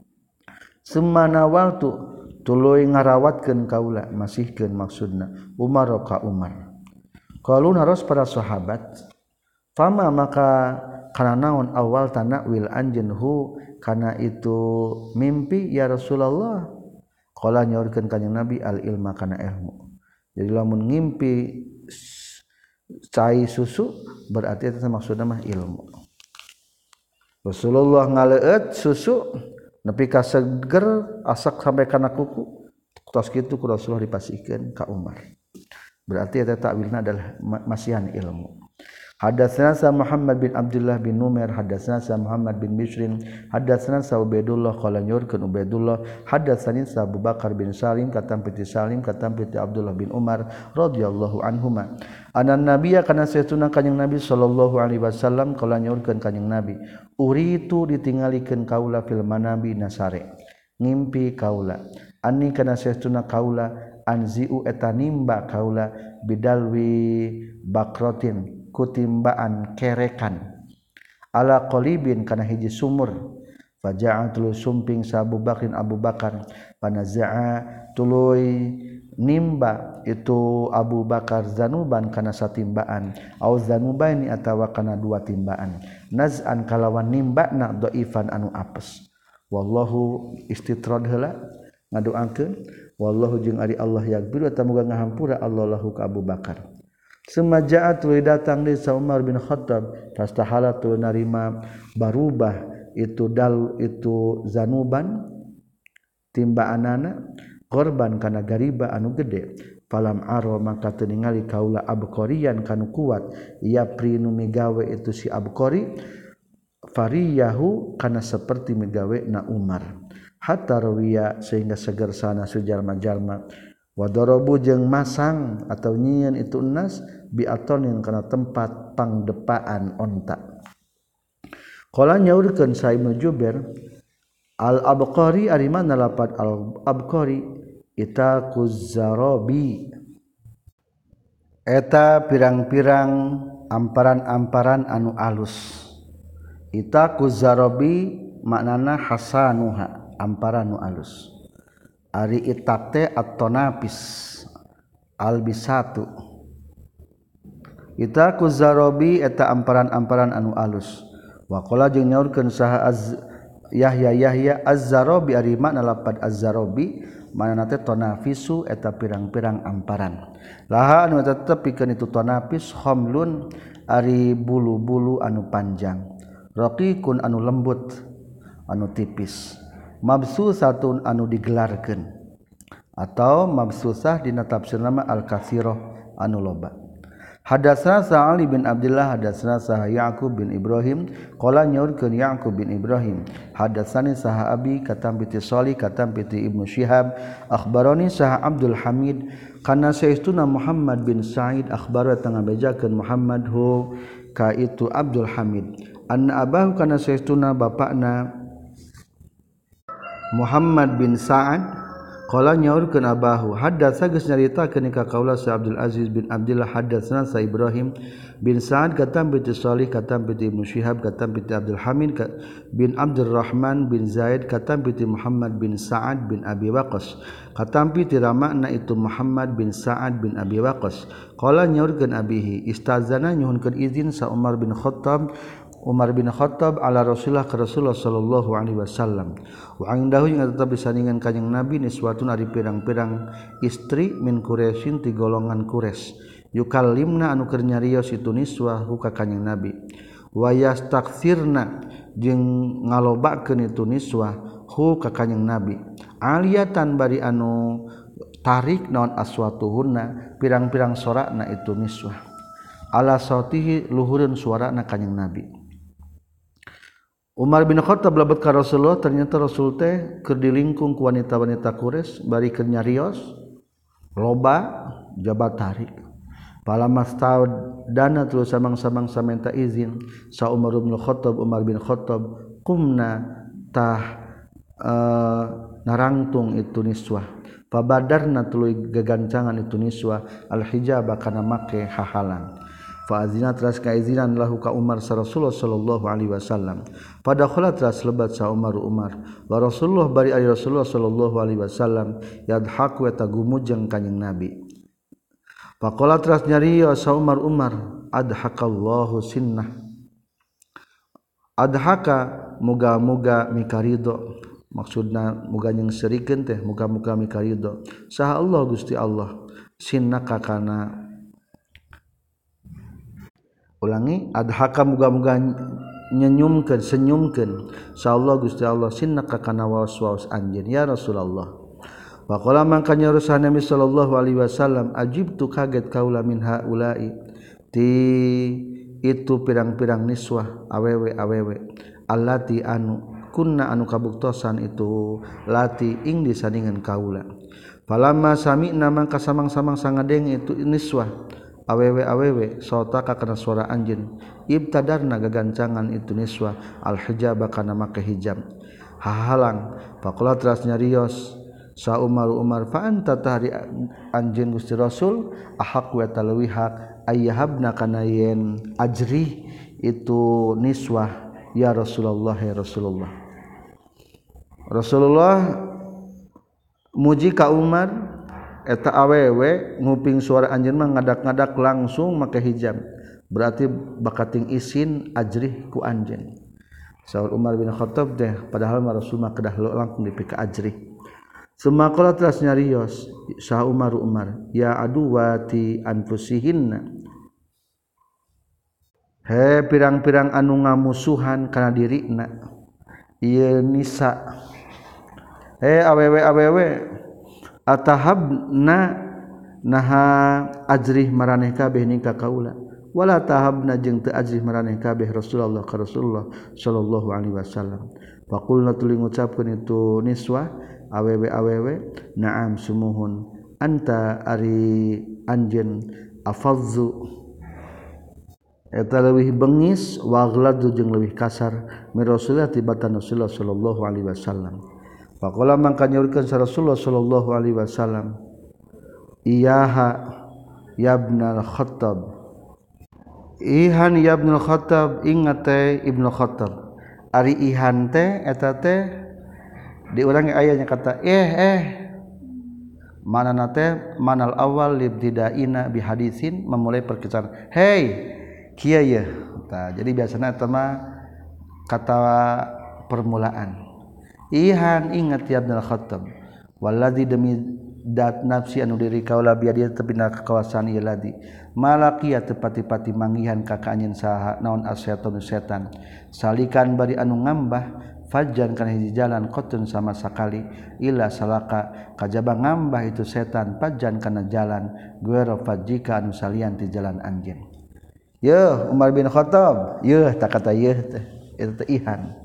sumana waltu tuluy ngarawatkeun kaula masihkeun maksudna Umar ka Umar qalu naros para sahabat fama maka kana naon awal tanakwil anjeun hu kana itu mimpi ya Rasulullah qala nyaurkeun kanjing Nabi al ilma kana ilmu jadi lamun ngimpi cai susu berarti eta maksudna mah ilmu Rasulullah ngaleueut susu nepi ka seger asak sampai kana kuku tos kitu ku Rasulullah dipasihkeun ka Umar berarti eta takwilna adalah masihan ilmu Hadatsana sa Muhammad bin Abdullah bin Numair hadatsana sa Muhammad bin Bishrin hadatsana sa Ubaidullah qala nyurkeun Ubaidullah hadatsani sa Abu Bakar bin Salim katam piti Salim katam piti Abdullah bin Umar radhiyallahu anhuma anan nabiyya kana saytuna kanjing Nabi sallallahu alaihi wasallam qala nyurkeun kanjing Nabi uritu ditingalikeun kaula fil manabi nasare ngimpi kaula anni kana saytuna kaula anziu eta nimba kaula bidalwi bakrotin kutimbaan kerekan ala qalibin kana hiji sumur faja'a tuluy sumping sa Abu Bakrin Abu Bakar panaza'a tuluy nimba itu Abu Bakar zanuban kana satimbaan au zanubaini atawa kana dua timbaan naz'an kalawan nimbana dhaifan anu apes wallahu istitrad heula ngadoakeun wallahu jeung ari Allah yaghfir eta muga ngahampura Allah lahu ka Abu Bakar Semajaat tuluy datang di Umar bin Khattab fastahala tuluy narima barubah itu dal itu zanuban timbaanana korban kana gariba anu gede falam aro maka teu ningali kaula abqariyan kanu kuat ia prinu migawe itu si abqari fariyahu kana seperti migawe na Umar hatta rawiya sehingga seger sana sujalma-jalma wa darabu jeung masang atau nyieun itu nas bi atonin kana tempat pangdepaan onta. Qala nyaurkeun Sa Ibnu Jubair al-Abqari ari mana lapat al-Abqari itaquz zarabi eta pirang-pirang amparan-amparan anu alus. Itaquz zarabi maknana hasanuha amparan nu alus. Ari itak teh at-tanafis albisatu. Itaquz zarabi eta amparan-amparan anu alus. Wa qala jeung nyaurkeun saha az Yahya Yahya az-zarabi ari makna lapad az-zarabi manana teh tanafisu eta pirang-pirang amparan. Laha anu tetep pikeun itu tanafis khamlun ari bulu-bulu anu panjang. Raqiqun anu lembut anu tipis. Mabsusatun anu digelarkeun atau mabsusah dina tafsir nama al-katsirah anu loba. Hadatsana Sa'ali bin Abdullah hadatsana Saha Ya'qub bin Ibrahim qala nyaurkeun Ya'qub bin Ibrahim hadatsani Saha Abi katam piti Shalih katam piti Ibnu Syihab akhbarani Saha Abdul Hamid kana saestuna Muhammad bin Sa'id akhbara tangah bejakeun Muhammad hu ka itu Abdul Hamid anna abahu kana saestuna bapakna Muhammad bin Sa'ad qala nyaurkeun abahu hadatsa geus nyaritakeun ka kaula Sa Abdul Aziz bin Abdullah hadatsana Sa Ibrahim bin Sa'ad katam bi Shalih katam bi Ibnu Syihab katam bi Abdul Hamid bin Abdurrahman bin Zaid katam bi Muhammad bin Sa'ad bin Abi Waqqas katam bi ramakna itu Muhammad bin Sa'ad bin Abi Waqqas qala nyaurkeun abihi istazana nyuhunkeun izin sa Umar bin Khattab Umar bin Khattab ala Rasulullah ka Rasulullah sallallahu alaihi wasallam wa indahu yang tetap disandingan kanjing Nabi niswatun ari pirang-pirang istri min Quraisyin ti golongan Quraisy yukallimna anu keur nyarios itu niswah hu ka kanjing Nabi wa yastaksirna jeung ngalobakeun itu niswah hu ka kanjing Nabi aliyatan bari anu tarik naon aswatuhunna pirang-pirang sorakna itu niswah ala sautihi luhureun suarana kanjing Nabi. Umar bin Khattab labet ka Rasulullah ternyata Rasul teh keur dilingkung ku wanita-wanita Quraisy bari keur nyarios loba jabat tarik. Palamastau dana terus samang-samang samenta izin sa Umar bin Khattab Umar bin Khattab kumna tah uh, narangtung itu niswah. Fabadarna tuluy gagancangan itu niswah al-hijab kana make hahalan. Fa azina teras kaizinan lahu ka Umar sa Rasulullah sallallahu alaihi wasallam. Pada khala teras lebat sa Umar Umar. Wa Rasulullah bari ari Rasulullah sallallahu alaihi wasallam yadhaku eta gumujeng kanjing Nabi. Faqala teras nyarios sa Umar Umar adhakallahu sinnah. Adhaka muga-muga mikarido maksudna muga nyengsirikeun teh muga-muga mikarido. Saha Allah Gusti Allah sinnaka kana ulangi adhaka muga-muga nyenyumkeun senyumkeun insyaallah Gusti Allah sinnaka kana waswas anjeun ya Rasulullah. Wa qala man kana rusul Nabi sallallahu alaihi wasallam ajibtu kaget kaula min haula'i ti itu pirang-pirang niswah awewe-awewe allati anu kunna anu kabuktosan itu lati ing disandingan kaula. Falamma sami'na mangka samang-samang sangadeng itu niswah awewe-awewe sautaka kana suara anjeun ibtadarna gagancangan itu niswah al-hijab kana make hijab hahalang faqala teras nyarios sa Umar Umar fa anta tahri anjeun Gusti Rasul ahaq wa talwi haq ayyahabna kana yen ajri itu niswah ya Rasulullah ya Rasulullah. Rasulullah muji ka Umar eta awewe nguping suara anjeun mah ngadak-ngadak langsung make hijab berarti bakating isin ajrih ku anjeun. Saur Umar bin Khattab teh padahal mah Rasul mah kedah langsung dipika ajrih. Sumakala teras nyarios sah Umar Umar ya aduwati anfusihinna he pirang-pirang anu ngamusuhan kana dirina ieu nisa he awewe-awewe atahabna naha ajrih maraneh kabeh ning ka kaula wala tahabna jeung teu ajrih maraneh kabeh Rasulullah ka Rasulullah sallallahu alaihi wasallam. Faqulna tuluy ngucapkeun itu niswah awewe-awewe na'am sumuhun anta ari anjeun afadzu eta leuwih beungis wa aghladu jeung leuwih kasar mi Rasulullah tibatan Rasulullah sallallahu alaihi wasallam. Faqala mangka nyaurkeun sa Rasulullah sallallahu alaihi wasallam iyaha yabnal Khattab ihan yabnal Khattab ingat teh Ibnu Khattab ari ihan teh eta teh diulangi ayatnya kata eh eh manana teh manal awal libtidaina bi hadisin memulai perkisahan hey kieu ye tah jadi biasana eta mah kata permulaan ihan ingat ya Ibnu Khattab waladzi demi dat nafsi anu diri kaula biadi tepina kekawasan ieu ladi malaki tepati-pati manggihan ka anjeun saha naon asyaiton setan salikan bari anu ngambah fajan kana hiji jalan qotun sama sakali ila salaka kajaba ngambah itu setan fajan kana jalan guero fajika anu salian ti jalan anjeun yeuh Umar bin Khattab yeuh tak kata yeuh teh eta teh ihan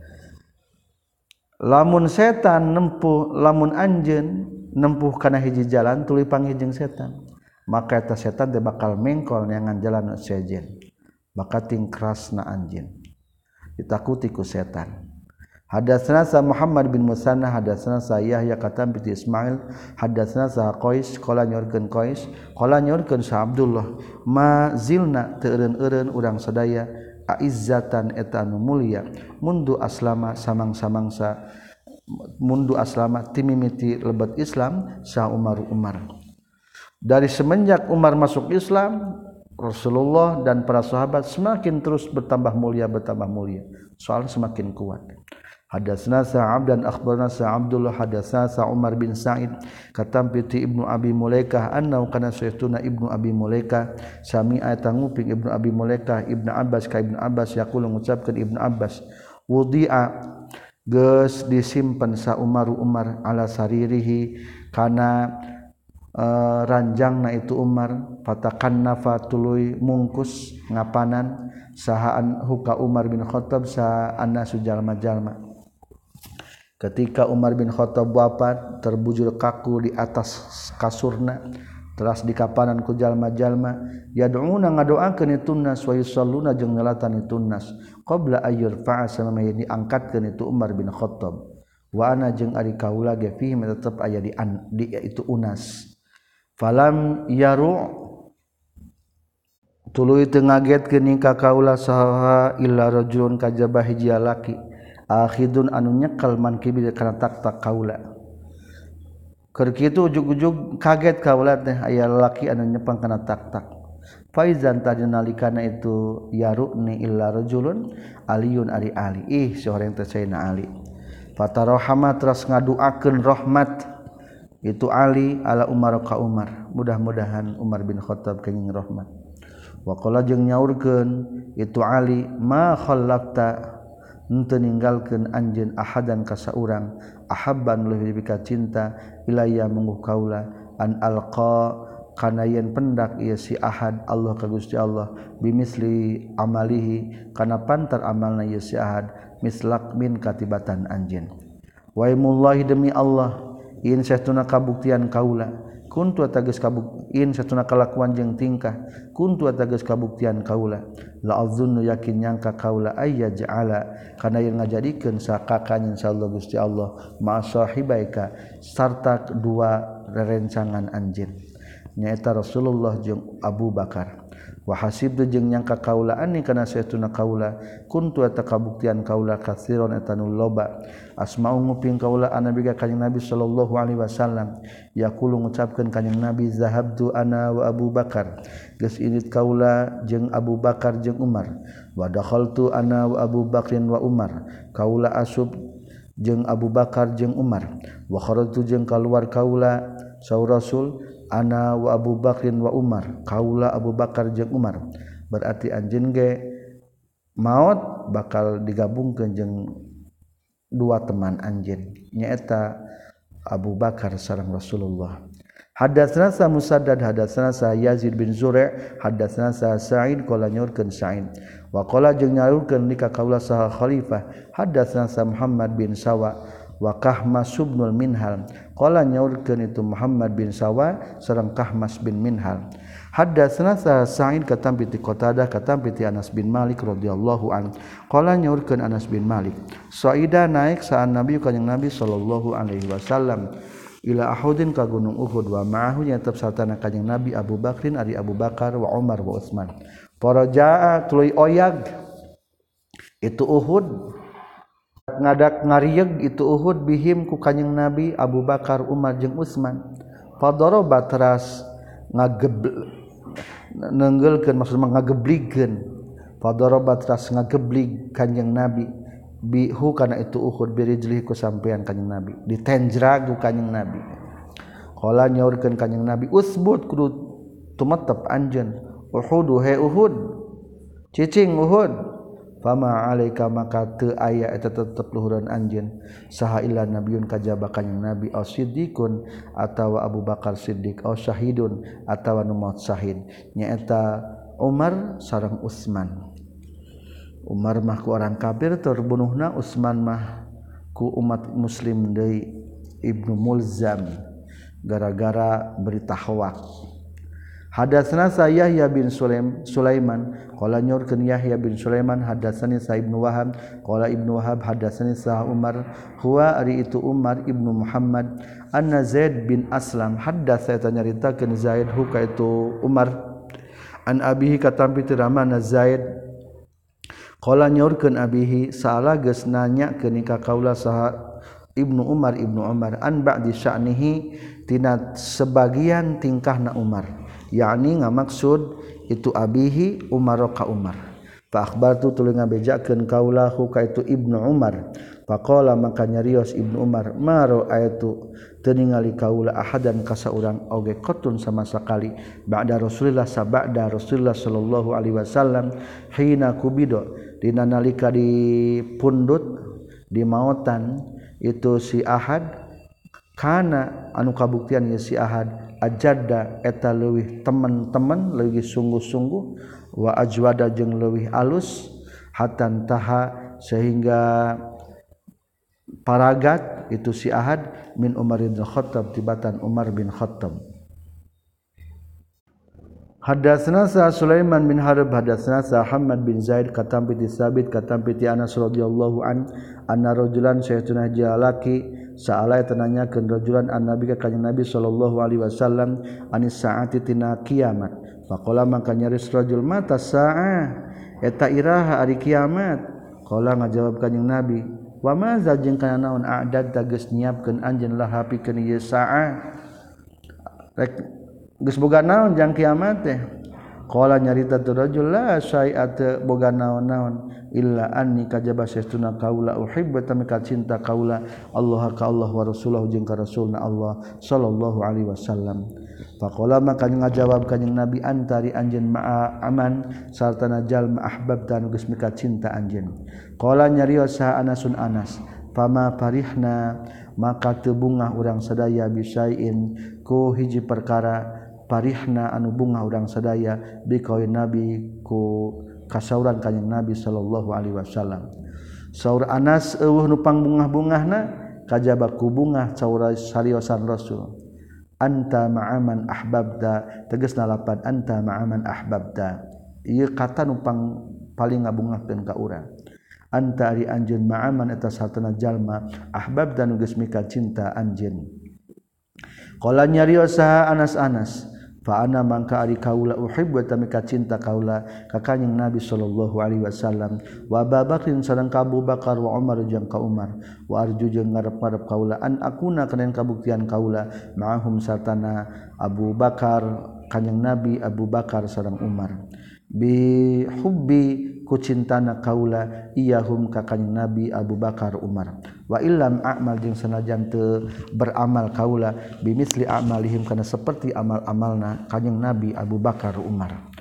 lamun setan nempuh lamun anjeun nempuh kana hiji jalan tuluy panggih jeung setan maka eta setan teh bakal mengkol neangan jalan sejen bakal tingkrasna anjeun ditakuti ku setan. Hadatsana sa Muhammad bin Musanna hadatsana sa Yahya katam bi Ismail hadatsana sa Qais qala nyorkeun Qais qala nyorkeun sa Abdullah ma zilna teu eureun-eureun urang sadaya aizzatan eta anu mulia mundu aslama samang-samangsa mundu aslama timimiti lebet Islam sa Umar Umar dari semenjak Umar masuk Islam Rasulullah dan para sahabat semakin terus bertambah mulia bertambah mulia soal semakin kuat. Hadatsana sa Abdan akhbarana sa Abdullah hadatsana sa Umar bin Sa'id katam piti Ibnu Abi Mulaikah annau kana saytuna Ibnu Abi Mulaikah sami'a tanguping Ibnu Abi Mulaikah Ibnu Abbas ka Ibnu Abbas yaqulu ngucapkeun Ibnu Abbas wudi'a geus disimpen sa Umar Umar ala saririhi kana uh, ranjangna itu Umar fatakannafa tuluy mungkus ngapanan sahaan huka Umar bin Khattab sa annasu jalma-jalma. Ketika Umar bin Khattab wafat terbujur kaku di atas kasurna teras di kapanan ku jalma-jalma yad'una ngadoakeun itu nas wa yusalluna jeung ngalatan itu nas qabla ayyur fa'a samaya diangkatkeun itu Umar bin Khattab wa ana jeung ari kaula ge fihi tetep aya di, an, di itu unas falam yaru tuluy teu ngagetkeun ka kaula saha illa rajulun kajaba hiji laki akhidun anu nyekel man kibir kana tak-tak kaula keur kitu ujug-ujug kaget kaula teh aya lalaki anu nyepang kana tak-tak faizan tadinalikana itu yaruni illa rajulun aliyun ari ali ih soreng teh saena ali fatarahama teras ngaduakeun rahmat itu ali ala Umar ka Umar mudah-mudahan Umar bin Khattab kenging rahmat wa qala jeung nyaurkeun itu ali ma khallafta henteu ninggalkeun anjeun ahadan ka saurang ahabban leuwih ka cinta ilayya mungguh kaula an alqa kana yen pendak ieu si ahad Allah ka Gusti Allah bimisli amalihi kana pantar amalna ieu si ahad mislak min katibatan anjeun wa imullahi demi Allah in satuna kabuktian kaula kuntu atageus kabuktian satuna kalakuan jeung tingkah kuntu atageus kabuktian kaula la azzunnu yakin nyangka kaula ayya ja'ala kana yen ngajadikeun sakakanin insyaallah Gusti Allah ma sahibaika sarta dua rerencangan anjeun nyaeta Rasulullah jeung Abu Bakar wa hasibtu jeung nyangka kaula anni kana satuna kaula kuntu eta kabuktian kaula katsiron eta nu loba asma'u nguping kaula anabi ka kanjing Nabi sallallahu alaihi wasallam yaqulu ngucapkeun kanjing Nabi zahabtu ana wa Abu Bakar geus irit kaula jeung Abu Bakar jeung Umar wa dakhaltu ana wa Abu Bakrin wa Umar kaula asub jeung Abu Bakar jeung Umar wa kharajtu jeung kaluar kaula saur Rasul ana wa Abu Bakrin wa Umar kaula Abu Bakar jeung Umar berarti anjeun ge maot bakal digabungkeun jeung dua teman anjeun nyaeta Abu Bakar sareng Rasulullah Hadatsana sa Musaddad hadatsana sa Yazid bin Zur'a hadatsana sa Sa'id qala nyaurkeun Sa'id wa qala jeung nyaurkeun li ka kaula saha khalifah hadatsana sa Muhammad bin Sawa wa Kahmas subnul Minhal qala nyaurkeun itu Muhammad bin Sawa sareng Kahmas bin Minhal hadatsana sa Sa'id katampi ti Qatadah katampi ti Anas bin Malik radhiyallahu an qala nyaurkeun Anas bin Malik Sa'ida naik saan Nabi kanjing Nabi sallallahu alaihi wasallam ila Uhudin ka gunung Uhud wa ma'ahu nya tetep sartana kanjing Nabi Abu Bakrin ari Abu Bakar wa Umar wa Utsman parajaa tuluy oyag itu Uhud ngadak ngarieg itu Uhud bihim ku kanjing Nabi Abu Bakar Umar jeung Utsman fadaraba teras ngagebl nenggeleulkeun maksudna ngageblikeun fadaraba teras ngageblig kanjing Nabi bihu kana itu Uhud birijlihi ku sampean kanjing Nabi ditenjrag ku kanjing Nabi qala nyaurkeun kanjing Nabi usbut kudu tumetep anjeun Uhud he Uhud cicing Uhud fama alaika maka teu aya eta tetep luhuran anjeun saha illa nabiun kajaba kanjing Nabi au siddiqun atawa Abu Bakar Siddiq au syahidun atawa nu maot syahid nyaeta Umar sareng Utsman Umar mah ku orang kafir terbunuhna Utsman mah ku umat muslim deui Ibnu Mulzam gara-gara berita hoak hadatsana Yahya bin Sulaim Sulaiman qala nyorkeun Yahya bin Sulaiman hadatsani sa Ibnu Wahab qala Ibnu Wahab hadatsani sa Umar huwa ari itu Umar Ibnu Muhammad anna Zaid bin Aslam hadatsa eta nyaritakeun Zaid hu ka itu Umar an abihi katampi teu ramana Zaid qala nyaurkeun abihi saala geus nanyakeun ka kaula saha Ibnu Umar Ibnu Umar an ba'di sya'nihi tina sebagian tingkahna Umar yakni ngamaksud itu abihi Umar ka Umar fa akhbartu tuluy ngabejakeun kaula hu ka itu Ibnu Umar faqala maka nyarios Ibnu Umar maro ayatu teu ningali kaula ahadan ka saurang oge qatun sama sakali ba'da Rasulillah sabada Rasulullah sallallahu alaihi wasallam hina kubido dina nalika dipundut di maotan itu si Ahad kana anu kabuktian ya si Ahad ajadda eta leuwih temen-temen leuwih sungguh-sungguh wa ajwada jeung leuwih alus hatan taha sehingga paragat itu si Ahad min Umar bin Khattab tibatan Umar bin Khattab hadatsana sa Sulaiman bin Harb hadatsana sa Muhammad bin Zaid katampi ti Sabit katampi ti Anas radhiyallahu an anna rajulan saytuna jalaki saala tananyakeun rajulan an nabi ka kanjeng Nabi sallallahu alaihi wasallam anis saati tina kiamat faqala maka nyaris rajul mata saah eta iraha ari kiamat qala ngajawab kanjeng Nabi wa ma za jeung kana naon a'dad geus nyiapkeun anjeun laha pikeun ieu saah rek geus boga naon jang kiamat teh qala nyarita tu rajul la syai'at boga naon-naon illa anni kajaba saestuna kaula uhibbu tamika cinta kaula Allah ka Allah wa rasuluhu jeung ka rasulna Allah sallallahu alaihi wasallam faqala maka ngajawab kanjing Nabi antari anjeun ma'a aman sartana jalma ahbabtan geus mika cinta anjeun qala nyarios sa Anasun Anas fama farihna maka teu bungah urang sadaya bisain ku hiji perkara parihna anu bunga urang sadaya biqaul Nabi ku kasauran kanjing Nabi sallallahu alaihi wasallam saur Anas eueuh nu pangbungah-bungahna kajaba ku bungah saur sariosan Rasul anta ma'aman ahbabta tegasna lapan anta ma'aman ahbabta ieu kata nu pang paling ngabungahkeun ka urang anta ari anjeun ma'aman eta satana jalma ahbabta nu geus mika cinta anjeun qala nyarios saha Anas Anas fa ana mangka ari kaula uhibbu tamika cinta kaula ka kanjing Nabi sallallahu alaihi wasallam wa Abu Bakrin sareng ka Abu Bakar wa Umar jeung ka Umar wa arju jeung ngarep-ngarep kaula an akuna kana kabuktian kaula ma'ahum sartana Abu Bakar kanjing Nabi Abu Bakar sareng Umar bi hubbi ku cintana kaula iyahum ka kanjing Nabi Abu Bakar Umar wa illam a'mal jeung sanajan teu beramal kaula bimisli a'malihim kana seperti amal-amalna kanjing Nabi Abu Bakar Umar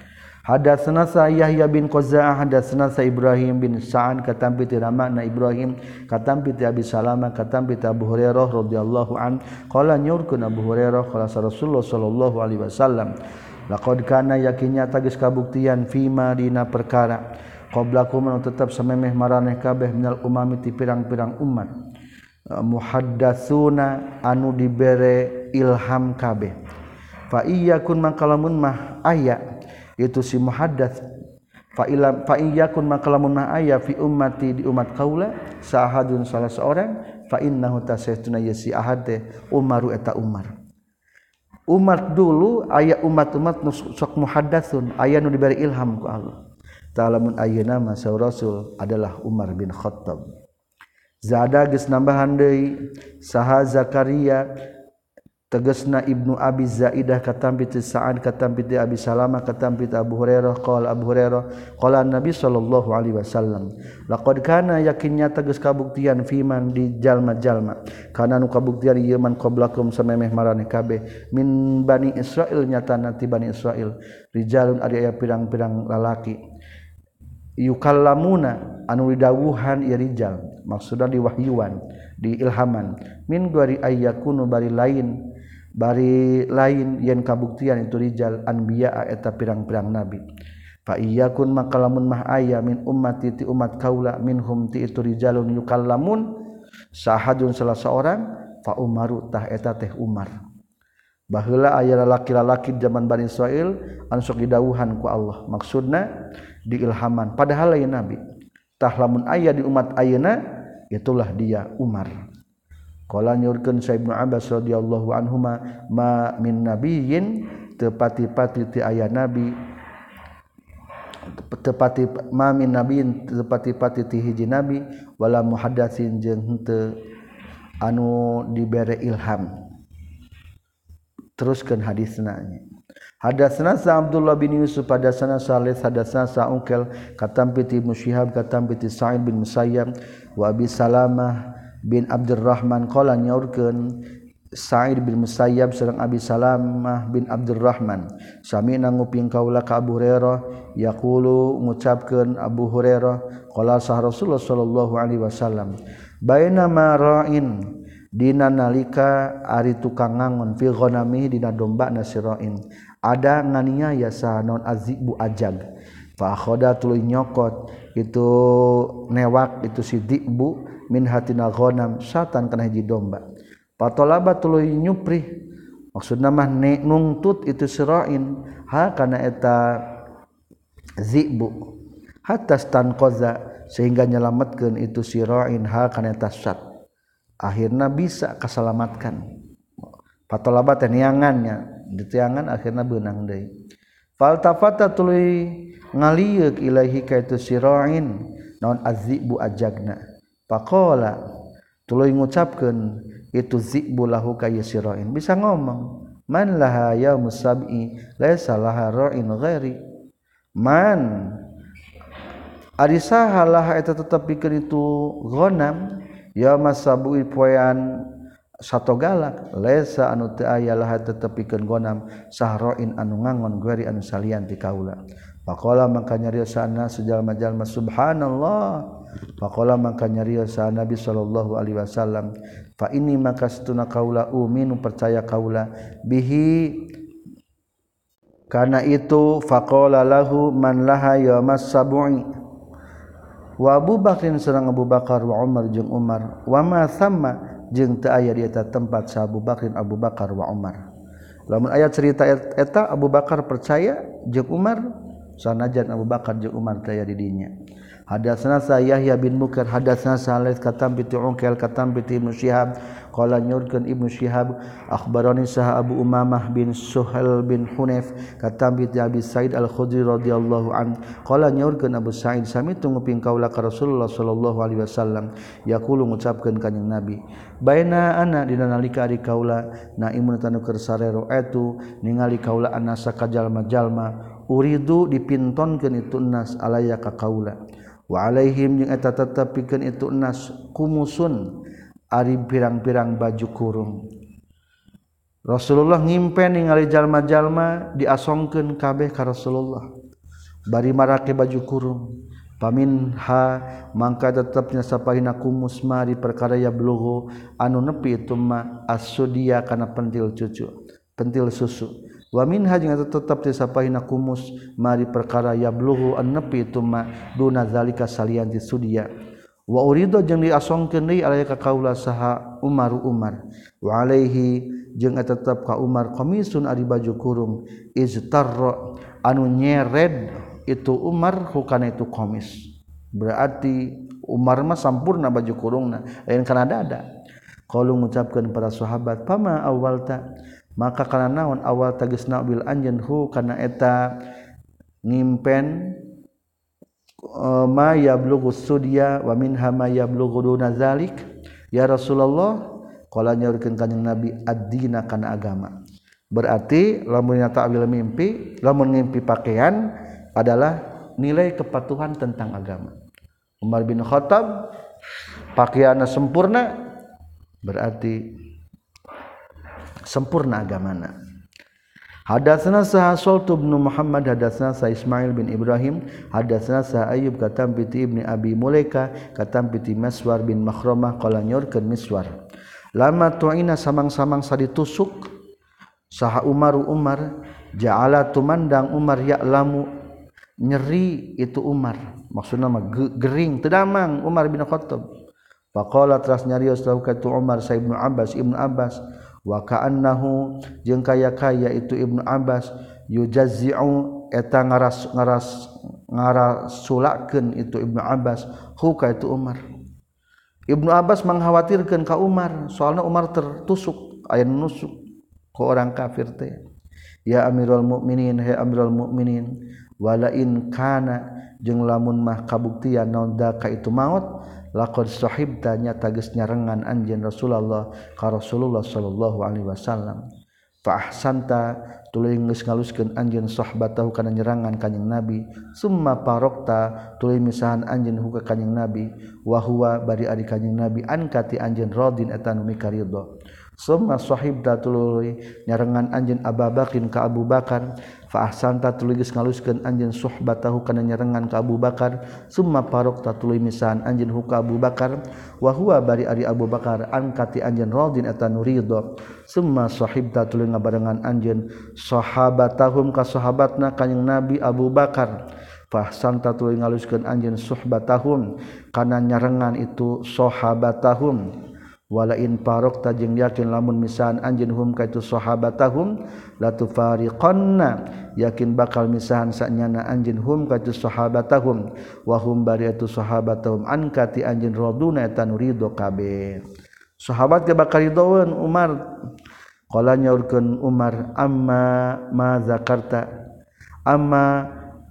Hadatsana Yahya bin Qaza'ah hadatsana Ibrahim bin Sa'ad katampi ti ramana Ibrahim katampi ti Abi Salamah katampi ti Abu Hurairah radhiyallahu an qala nyurkeun Abu Hurairah qala Rasulullah sallallahu alaihi wasallam laqad kana yakinnya tagis kabuktian fima dina perkara qablakum anu tetep samemeh maraneh kabeh minal umami ti pirang-pirang umat muhaddatsuna anu dibere ilham kabeh fa iyyakun mangkalamun mah aya itu si muhaddats fa ila fa iyyakun makalamun ma aya fi ummati di umat kaula sahadun salah seorang fa innahu tasaytuna yasi ahad teh Umaru eta Umar umat dulu aya umat-umat nu sok muhaddatsun aya nu diberi ilham ku Allah ta'lamun ayeuna ma Rasul adalah Umar bin Khattab zada geus nambahan deui saha Zakaria tegasna Ibnu Abi Zaidah katampi ti Sa'ad katampi ti Abi Salamah katampi ti Abu Hurairah qala Abu Hurairah qala Nabi sallallahu alaihi wasallam laqad kana yakinnya tegas kabuktian fiman di jalma-jalma kana nu kabuktian ieu man qablakum samemeh maraneh kabeh min Bani Israil nyatana ti Bani Israil rijalun ari aya pirang-pirang lalaki yukallamuna anu didawuhan ieu rijal maksudna diwahyuan diilhaman min gari ayyakunu bari lain bari lain yen kabuktian itu rijal anbiya eta pirang-pirang nabi fa iyyakun makalamun mah aya min ummati ti umat kaula minhum ti itu rijalun yukallamun sahadun salah seorang fa Umaru tah eta teh Umar baheula aya lalaki-lalaki zaman Bani Israil anu sok didawuhan ku Allah maksudna diilhaman padahal lain nabi tah lamun aya di umat ayeuna itulah dia Umar. Qala nyurkeun Sa Ibnu Abbas radhiyallahu anhuma ma min nabiyyin tepati-pati ti aya nabi tepati ma min nabiyyin tepati-pati ti hiji nabi wala muhaddatsin jeung henteu anu dibere ilham teruskeun hadisna hadatsana Sa Abdullah bin Yusuf hadatsana Salih hadatsana Sa Ungkel katampi ti Ibnu Syihab katampi ti Sa'id bin Musayyab wa Abi Salamah bin Abdurrahman qala nyaurkeun Sa'id bin Musayyab sareng Abi Salamah bin Abdurrahman sami nguping kaula ka Abu Hurairah yaqulu ngucapkeun Abu Hurairah qala sah Rasulullah sallallahu alaihi wasallam baina ma ra'in dina nalika ari tukang ngangon fi ghanami dina domba nasirain ada nganiaya sa naon azibu ajag fa khoda tuluy nyokot itu newak itu si dibu min hatina ghanam satan kana hiji domba patolaba tuluy nyupri maksudna mah nungtut itu sirain ha kana eta zibu hatta stanqaza sehingga nyelametkeun itu sirain ha kana eta sat akhirna bisa kasalamatkan patolaba teh niangannya ditiangan akhirna beunang deui faltafata tuluy ngalieuk ilaahi ka itu sirain naon azibu ajagna faqala tuluy ngucapkeun itu zibu lahu ka sirain bisa ngomong man laha yaumus sab'i laisa laha ra'in ghairi man ari saha laha eta tetep pikeun itu ghanam yaumas sab'i poean sato galak laisa anu teu aya laha tetep pikeun ghanam sahra'in anu ngangon ghairi anu salian ti kaula faqala mangka nyariosana sejalma-jalma subhanallah faqala mangka nyariosana Nabi sallallahu alaihi wasallam fa inni maka satuna kaula uminu percaya kaula bihi kana itu faqala lahu man laha yaumas sab'i wa Abu Bakrin sareng Abu Bakar wa Umar jeung Umar wa ma thamma jeung teu aya di eta tempat sa Abu Bakrin Abu Bakar wa Umar lamun aya cerita eta Abu Bakar percaya jeung Umar sanajan Abu Bakar jeung Umar teh aya di dinya hadatsana Yahya bin Bukar hadatsana Salih katam bi Ungkel katam bi Ibnu Syihab qala nyurkeun Ibnu Syihab akhbarani sah Abu Umamah bin Suhail bin Hunayf katam bi Abi Sa'id Al-Khudri radhiyallahu an qala nyurkeun Abu Sa'id sami tunguping kaula ka Rasulullah sallallahu alaihi wasallam yaqulu ngucapkeun kanjing Nabi baina ana dina nalika ari kaula naimun tanu keur sarero etu ningali kaula anasa ka jalma-jalma uridu dipintonkeun itu nas alaya ka kaula wa alaihim jeung eta tetep pikeun itu nas kumusun ari pirang-pirang baju kurung Rasulullah ngimpen ningali jalma-jalma diasongkeun kabeh ka Rasulullah bari marake baju kurung paminha mangka tetepnya sapahina kumus mari perkara ya blughu anu nepi itu ma as-sudiya kana pentil cucu pentil susu wa minha jeung tetep ti sapahina kumus mari perkara ya blughu anu nepi itu ma duna zalika salian ti sudiya wa urido jeung diasongkeun deui alaya ka kaula saha Umar Umar wa alaihi jeung tetep ka Umar qamisun ari baju kurung iztarra anu nyered itu Umar hukana itu qamis berarti Umar mah sampurna baju kurungna lain kana dada qalu ngucapkeun para sahabat pama awalta maka kana naon awal tagisna bil anjeun hu kana eta ngimpen ma yablughu sudya wa minha ma yablughu duna zalik ya Rasulullah qala nyaurkeun kanjing Nabi ad-dina kana agama berarti lamun ta'wil mimpi lamun ngimpi pakaian adalah nilai kepatuhan tentang agama Umar bin Khattab pakaianna sempurna berarti sempurna agamana hadatsana sa Sultu bin Muhammad hadatsana sa Ismail bin Ibrahim hadatsana sa Ayyub katam bi Ibni Abi Mulaika katam bi Maswar bin Makhramah qala nyorkeun Miswar lama tu'ina samang-samang saditusuk saha Umar Umar ja'ala tumandang Umar ya'lamu nyeri itu Umar maksudna mah gering teu damang Umar bin Khattab faqala teras nyarios lahu ka Umar sa Ibnu Abbas Ibnu Abbas wa ka'annahu jeung kaya-kaya itu Ibnu Abbas yujazzi'u eta ngaras ngaras ngarasulakeun itu Ibnu Abbas hu ka itu Umar Ibnu Abbas mengkhawatirkeun ka Umar soalna Umar tertusuk aya nusuk ku orang kafir teh ya Amirul Mukminin he Amirul Mukminin wala in kana jeung lamun mah kabuktian naon da ka itu maut laqad sahibta nyata geus nyarengan anjeun Rasulullah ka Rasulullah sallallahu alaihi wasallam fa ahsanta tuluy geus ngaluskeun anjeun sahbatahu kana nyerangan kanjing Nabi summa parokta tuluy misahan anjeun hu ka kanjing Nabi wa huwa bari ari kanjing Nabi ankati anjeun radin eta nu mikaridho summa sahibta tuluy nyarengan anjeun Abu Bakrin ka Abu Bakar fa ahsanta tuluy geus ngaluskeun anjeun suhbatahu kana nyarengan ka Abu Bakar summa parokta tuluy misahan anjeun hu ka Abu Bakar wa huwa bari ari Abu Bakar angkati anjeun radin eta nu ridho summa sahibta tuluy ngabarengan anjeun sahabatahum ka sahabatna kanjing Nabi Abu Bakar fa ahsanta tuluy ngaluskeun anjeun suhbatahum kana nyarengan itu sahabatahum wala in parokta jeung yakin lamun misahan anjeun hum ka itu sahabatahum la tufariqanna yakin bakal misahan sanyana anjeun hum ka itu sahabatahum wa hum bari itu sahabatahum ankati anjeun raduna eta nu ridho kabeh sahabat ge bakal ridhoeun Umar qala nyaurkeun Umar amma ma zakarta amma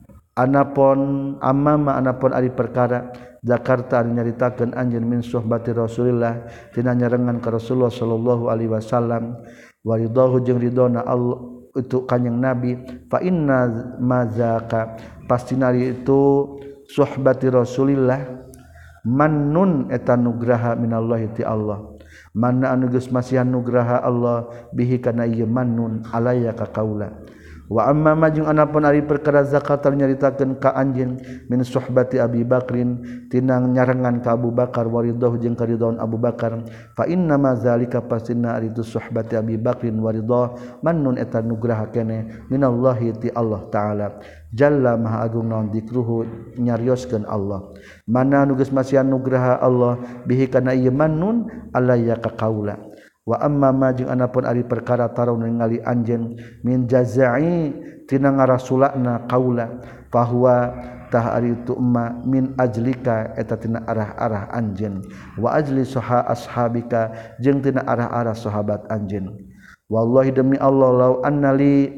anapun amma ma anapun ari perkara Jakarta nyaritakeun anjeun min suhbati Rasulillah tina nyarengan ka Rasulullah sallallahu alaihi wasallam wa ridahu jeung ridona Allah itu kanjing Nabi fa inna mazaka pastina itu suhbati Rasulillah mannun eta nugraha minallahi ti Allah manna anu geus masihan nugraha Allah bihi kana ieu mannun alaya ka kaula wa amma majung anapun ari perkara zakat nyaritakeun ka anjeun min suhbati Abi Bakrin tinang nyarengan ka Abu Bakar waridahu jeung karidon Abu Bakar fa inna ma zalika pasina ari tu suhbati Abi Bakrin waridah mannun eta nugraha keneh minallahi ti Allah taala jalla maha agung naon dikruhu nyarioskeun Allah mana nu geus masihan nugraha Allah bihi kana ieu mannun alaya ka kaula wa amma ma jeung anapun ari perkara taraw ningali anjeun min jazai tina ngarasulana qaula fahuwa tah ari tu umma min ajlika eta tina arah-arah anjeun wa ajli saha ashabika jeung tina arah-arah sahabat anjeun wallahi demi Allah law annali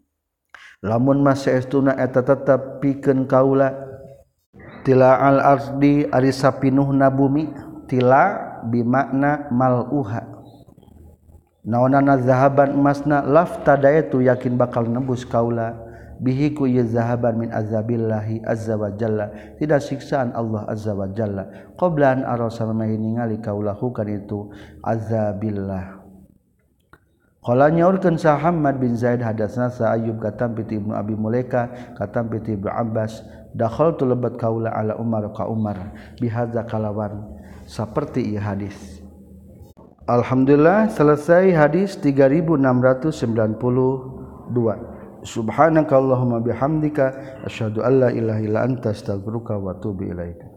lamun masaestuna eta tetep pikeun kaula tila al ardi ari sapinuhna bumi tila bimakna mal'uha naonana zahaban emasna laftadaitu yakin bakal nembus kaula bihi ku ye zahaban min azabillahi azza wa jalla tidak siksaan Allah azza wa jalla qabla an arasa ningali kaula hukan itu azabillah Qala nyaurkeun sa Hammad bin Zaid hadatsna sa Ayyub katam piti Ibnu Abi Mulaika katam piti Ibnu Abbas dakhaltu lebat kaula ala Umar ka Umar bihadza kalawan saperti ieu hadis. Alhamdulillah selesai hadis tiga ribu enam ratus sembilan puluh dua. Subhanakallahumma bihamdika asyhadu an la ilaha illa anta astaghfiruka wa atubu ilaika.